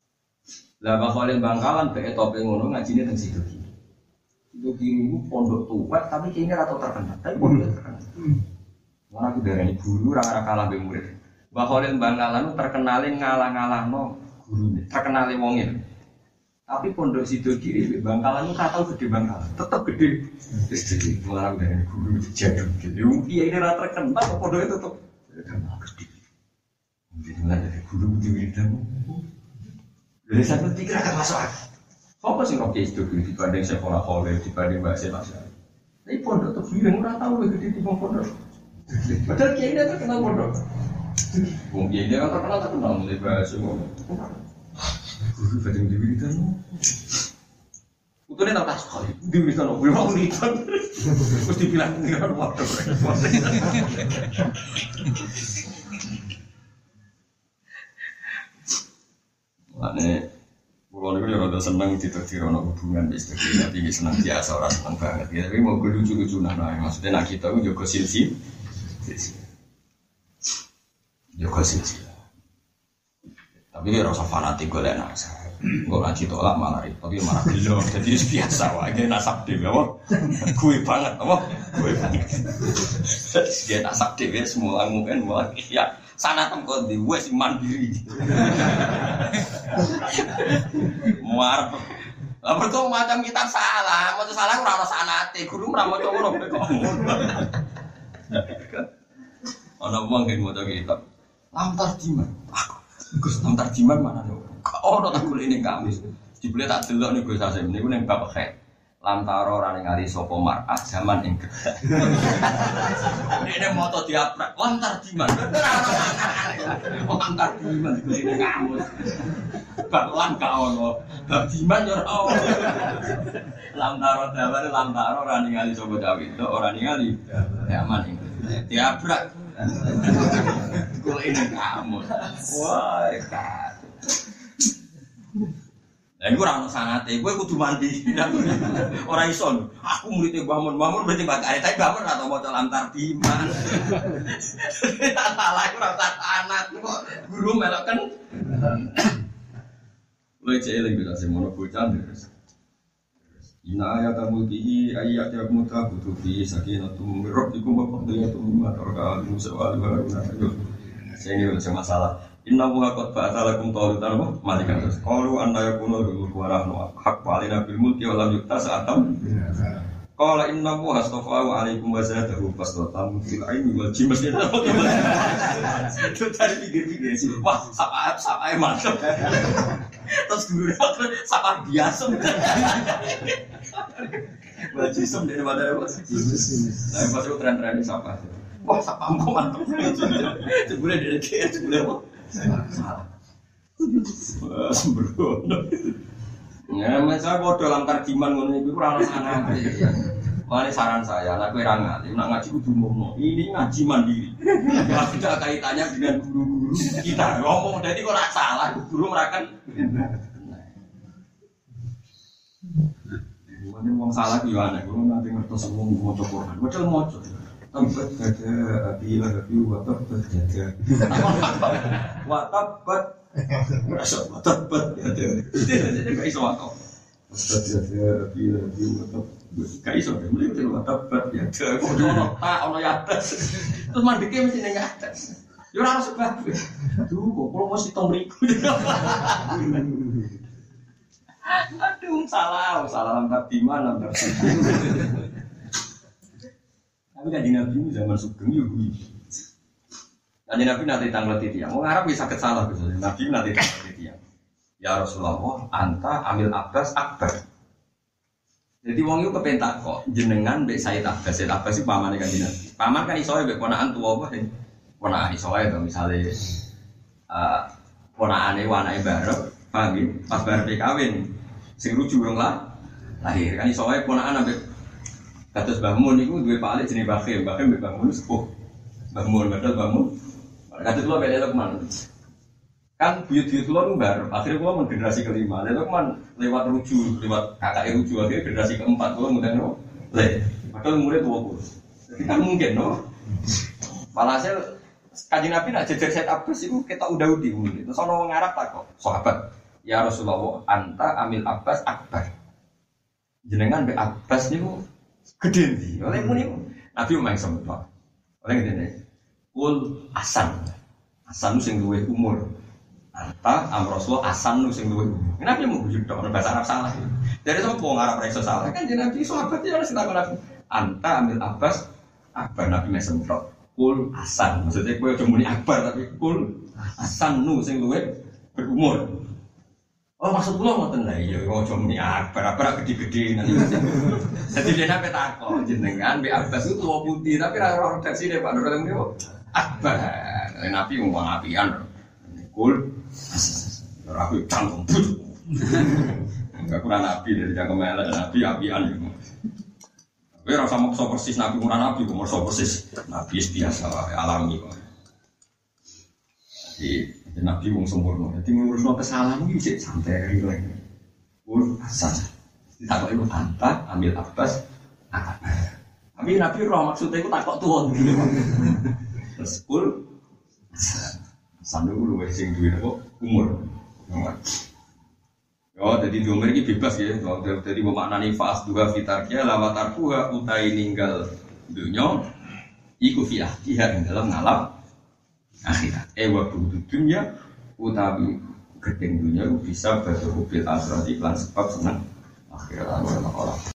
S3: Lah bakal Bangkalan be tope ngono ngajine teng situ iki. Itu kiri pondok tua tapi kayaknya rata terkenal. Tapi pondok terkenal. Mana aku darani guru ora kalah be murid. Bakal Bangkalan terkenalin ngalah-ngalahno gurune. Terkenale wong itu. Tapi pondok situ kiri Bangkalan itu kata gede Bangkalan. Tetap gede. Gede. Mana aku darani guru jago gitu. Yo kiai ini rata terkenal pondok itu tetap terkenal gede. Jadi mana dari guru di wiridan. Dari satu pikir akan masuk akal. Apa sih kok itu dibanding sekolah kolej dibanding bahasa bahasa. Tapi pondok tuh bilang orang tahu lebih gede di pondok. Padahal kiai ini terkenal pondok. Mungkin kiai ini kan terkenal terkenal mulai bahasa ngomong. Guru badeng di wiridan. Utune tak tas kali di wiridan opo yo wiridan. Terus dibilang ngira waduh. Ane, kalau ni kalau dah senang tidak tirono hubungan bisnis tapi senang biasa orang senang banget. Ya, tapi mau lucu-lucu nah, maksudnya nak kita pun juga silsi, juga silsi. Tapi dia rasa fanatik gue lah nak. Gue ngaji tolak malah itu, tapi malah belum. Jadi biasa, wah dia nasab dia, apa? Gue banget, apa? Gue banget. Dia nasab dia semua mungkin malah ya. Sana tempat di wes mandiri, muar. Apa tu macam kita salah, macam salah kurang rasa anate, guru kurang macam orang berkau. Anak buang kan macam kita, lamtar jiman, aku, gus lamtar jiman mana tu? Oh, tak boleh ini kami, dibeli tak jelek ni gus asem, ni pun yang bapak kek. Lantaro rane ngali sapa mar'ah zaman ing gedhe. Dene moto diaprak, lantar diman. Lantar diman iki kamu. Baklan ka ono. Bab diman yo ora. Lantaro daware lantaro rane ngali sapa Dawid, ora ningali zaman ing gedhe. Diaprak. Kok ini kamu. Wah, ka. Lah iku ora ono sanate, kowe kudu mandi. Ora iso. Aku murid Mbah Mun, Mbah Mun berarti bakal tapi Mbah Mun ora tau maca lantar diman. Tak salah iku ora tak anak kok guru meloken. Lha cek eling bisa semono bocah terus. Ina ayat mulki ayat yang muta butuh fi sakinatum rabbikum wa qadiyyatum ma taraka al-musawal wa la Saya ini ada masalah. Inna muha qad ba'atalakum taulutan wa malikan terus. Qalu anna yakunu lahu warahnu haq walina bil mulki wa lam yuktas atam. Qala inna muha astafahu alaikum wa zadahu fasdatan fil ilmi wal jism. Itu tadi pikir-pikir sih. Wah, sapa sapa mantap. Terus guru sapa biasa. Wal jism dari mana apa? Nah, pas itu tren-tren sapa. Wah, sapa ampo mantap. Sebulan dari K S sebulan apa? Salah. Sembrono. Ya, masa bodoh dalam tarjiman ngono iku ora ono sanane. Mane saran saya, nek kowe ra ngalim, nek ngaji kudu ngomong. Ini ngaji mandiri. Ada kaitannya dengan guru-guru kita. Ngomong jadi kok ora salah, guru merakan. Mane wong salah ki ana, guru nanti ngertos wong maca Quran. Padahal maca. Tempat gada bila rapi watak berjaga. Watak ber rasa watak ber ada. Jadi kayak iso watak. Watak gada bila rapi watak kayak iso. Mulai dari watak ber ya. Kalau tak ono atas, terus mandeknya mesti neng atas. Yo harus sebab. Tuh, kok kalau masih tomriku. Aduh salah, salah lantar di mana lantar. Tapi kan Nabi zaman sugeng yo kuwi. Kan Nabi nanti tanglet titiang. Wong Arab bisa sakit salah gitu. Nabi nanti tanglet titiang. Ya Rasulullah, anta amil Abbas akbar. Jadi wong iku kepentak kok jenengan mbek Said Abbas. Said Abbas iki pamane kan Nabi. Paman kan iso mbek ponakan tuwa apa sing ponakan iso ae to misale eh ponakane wanake barep, paham nggih? Pas barep kawin sing rujuk wong lah lahir kan iso ae ponakan ambek kados Mbah Mun niku duwe palik jenenge Bakhim, Bakhim mbek Mbah Mun sepuh. Mbah Mun padahal Mbah Mun. Kados kula beda Lukman. Kan buyut-buyut kula nu bareng. Akhire kula men generasi kelima. Lha Lukman lewat ruju, lewat kakake ruju akhire generasi keempat kula ngundang no. Le, padahal umure dua puluh. Jadi kan mungkin no. Walhasil Kanjeng Nabi nak jejer set Abbas iku ketok udah-udi. Terus ana wong Arab tak kok, sahabat. ya Rasulullah anta amil Abbas akbar. Jenengan be Abbas niku gede ndi? Oleh muni Nabi umang sempat. Oleh ngene. Kul Hasan. Hasan sing duwe umur. Anta am Rasulullah Hasan sing duwe umur. Nabi mau bujuk tok bahasa Arab salah. Dari sapa wong Arab iso salah kan jeneng Nabi sahabat ya sing takon Nabi. Anta amil Abbas akbar Nabi sempat. Kul Hasan. Maksudnya kowe aja muni akbar tapi kul Hasan nu sing luwih berumur. Oh maksud kula ngoten lha iya aja muni akbar akbar gede-gede nanti. Dadi dene apa takon jenengan mbek Abbas itu tuwa putih tapi ra ora redaksine Pak Nur niku akbar. Nabi ngomong apian. Kul ora aku cangkem but. Enggak kurang Nabi dari cangkem elek Nabi apian iku. Kowe ora usah maksa persis Nabi kurang Nabi kok maksa persis. Nabi biasa alami kok. Jadi Nabi wong sempurna. Jadi ngurusno kesalahan iki sik santai lagi. Ul Hasan. Ditakok iku anta ambil Abbas akbar. Tapi Nabi roh maksudnya iku takok tuwa dulu. Terus ul Hasan itu luwih sing duwe apa umur. Yo dadi umur iki bebas ya. Dadi maknane fa'as dua fitarkia lawatar kuha utai ninggal dunya iku fi ahdiha ing dalam ngalap akhirat. Ewa budu dunya utawi gedeng dunya bisa berhubung bil akhirat iklan sebab senang akhirat orang-orang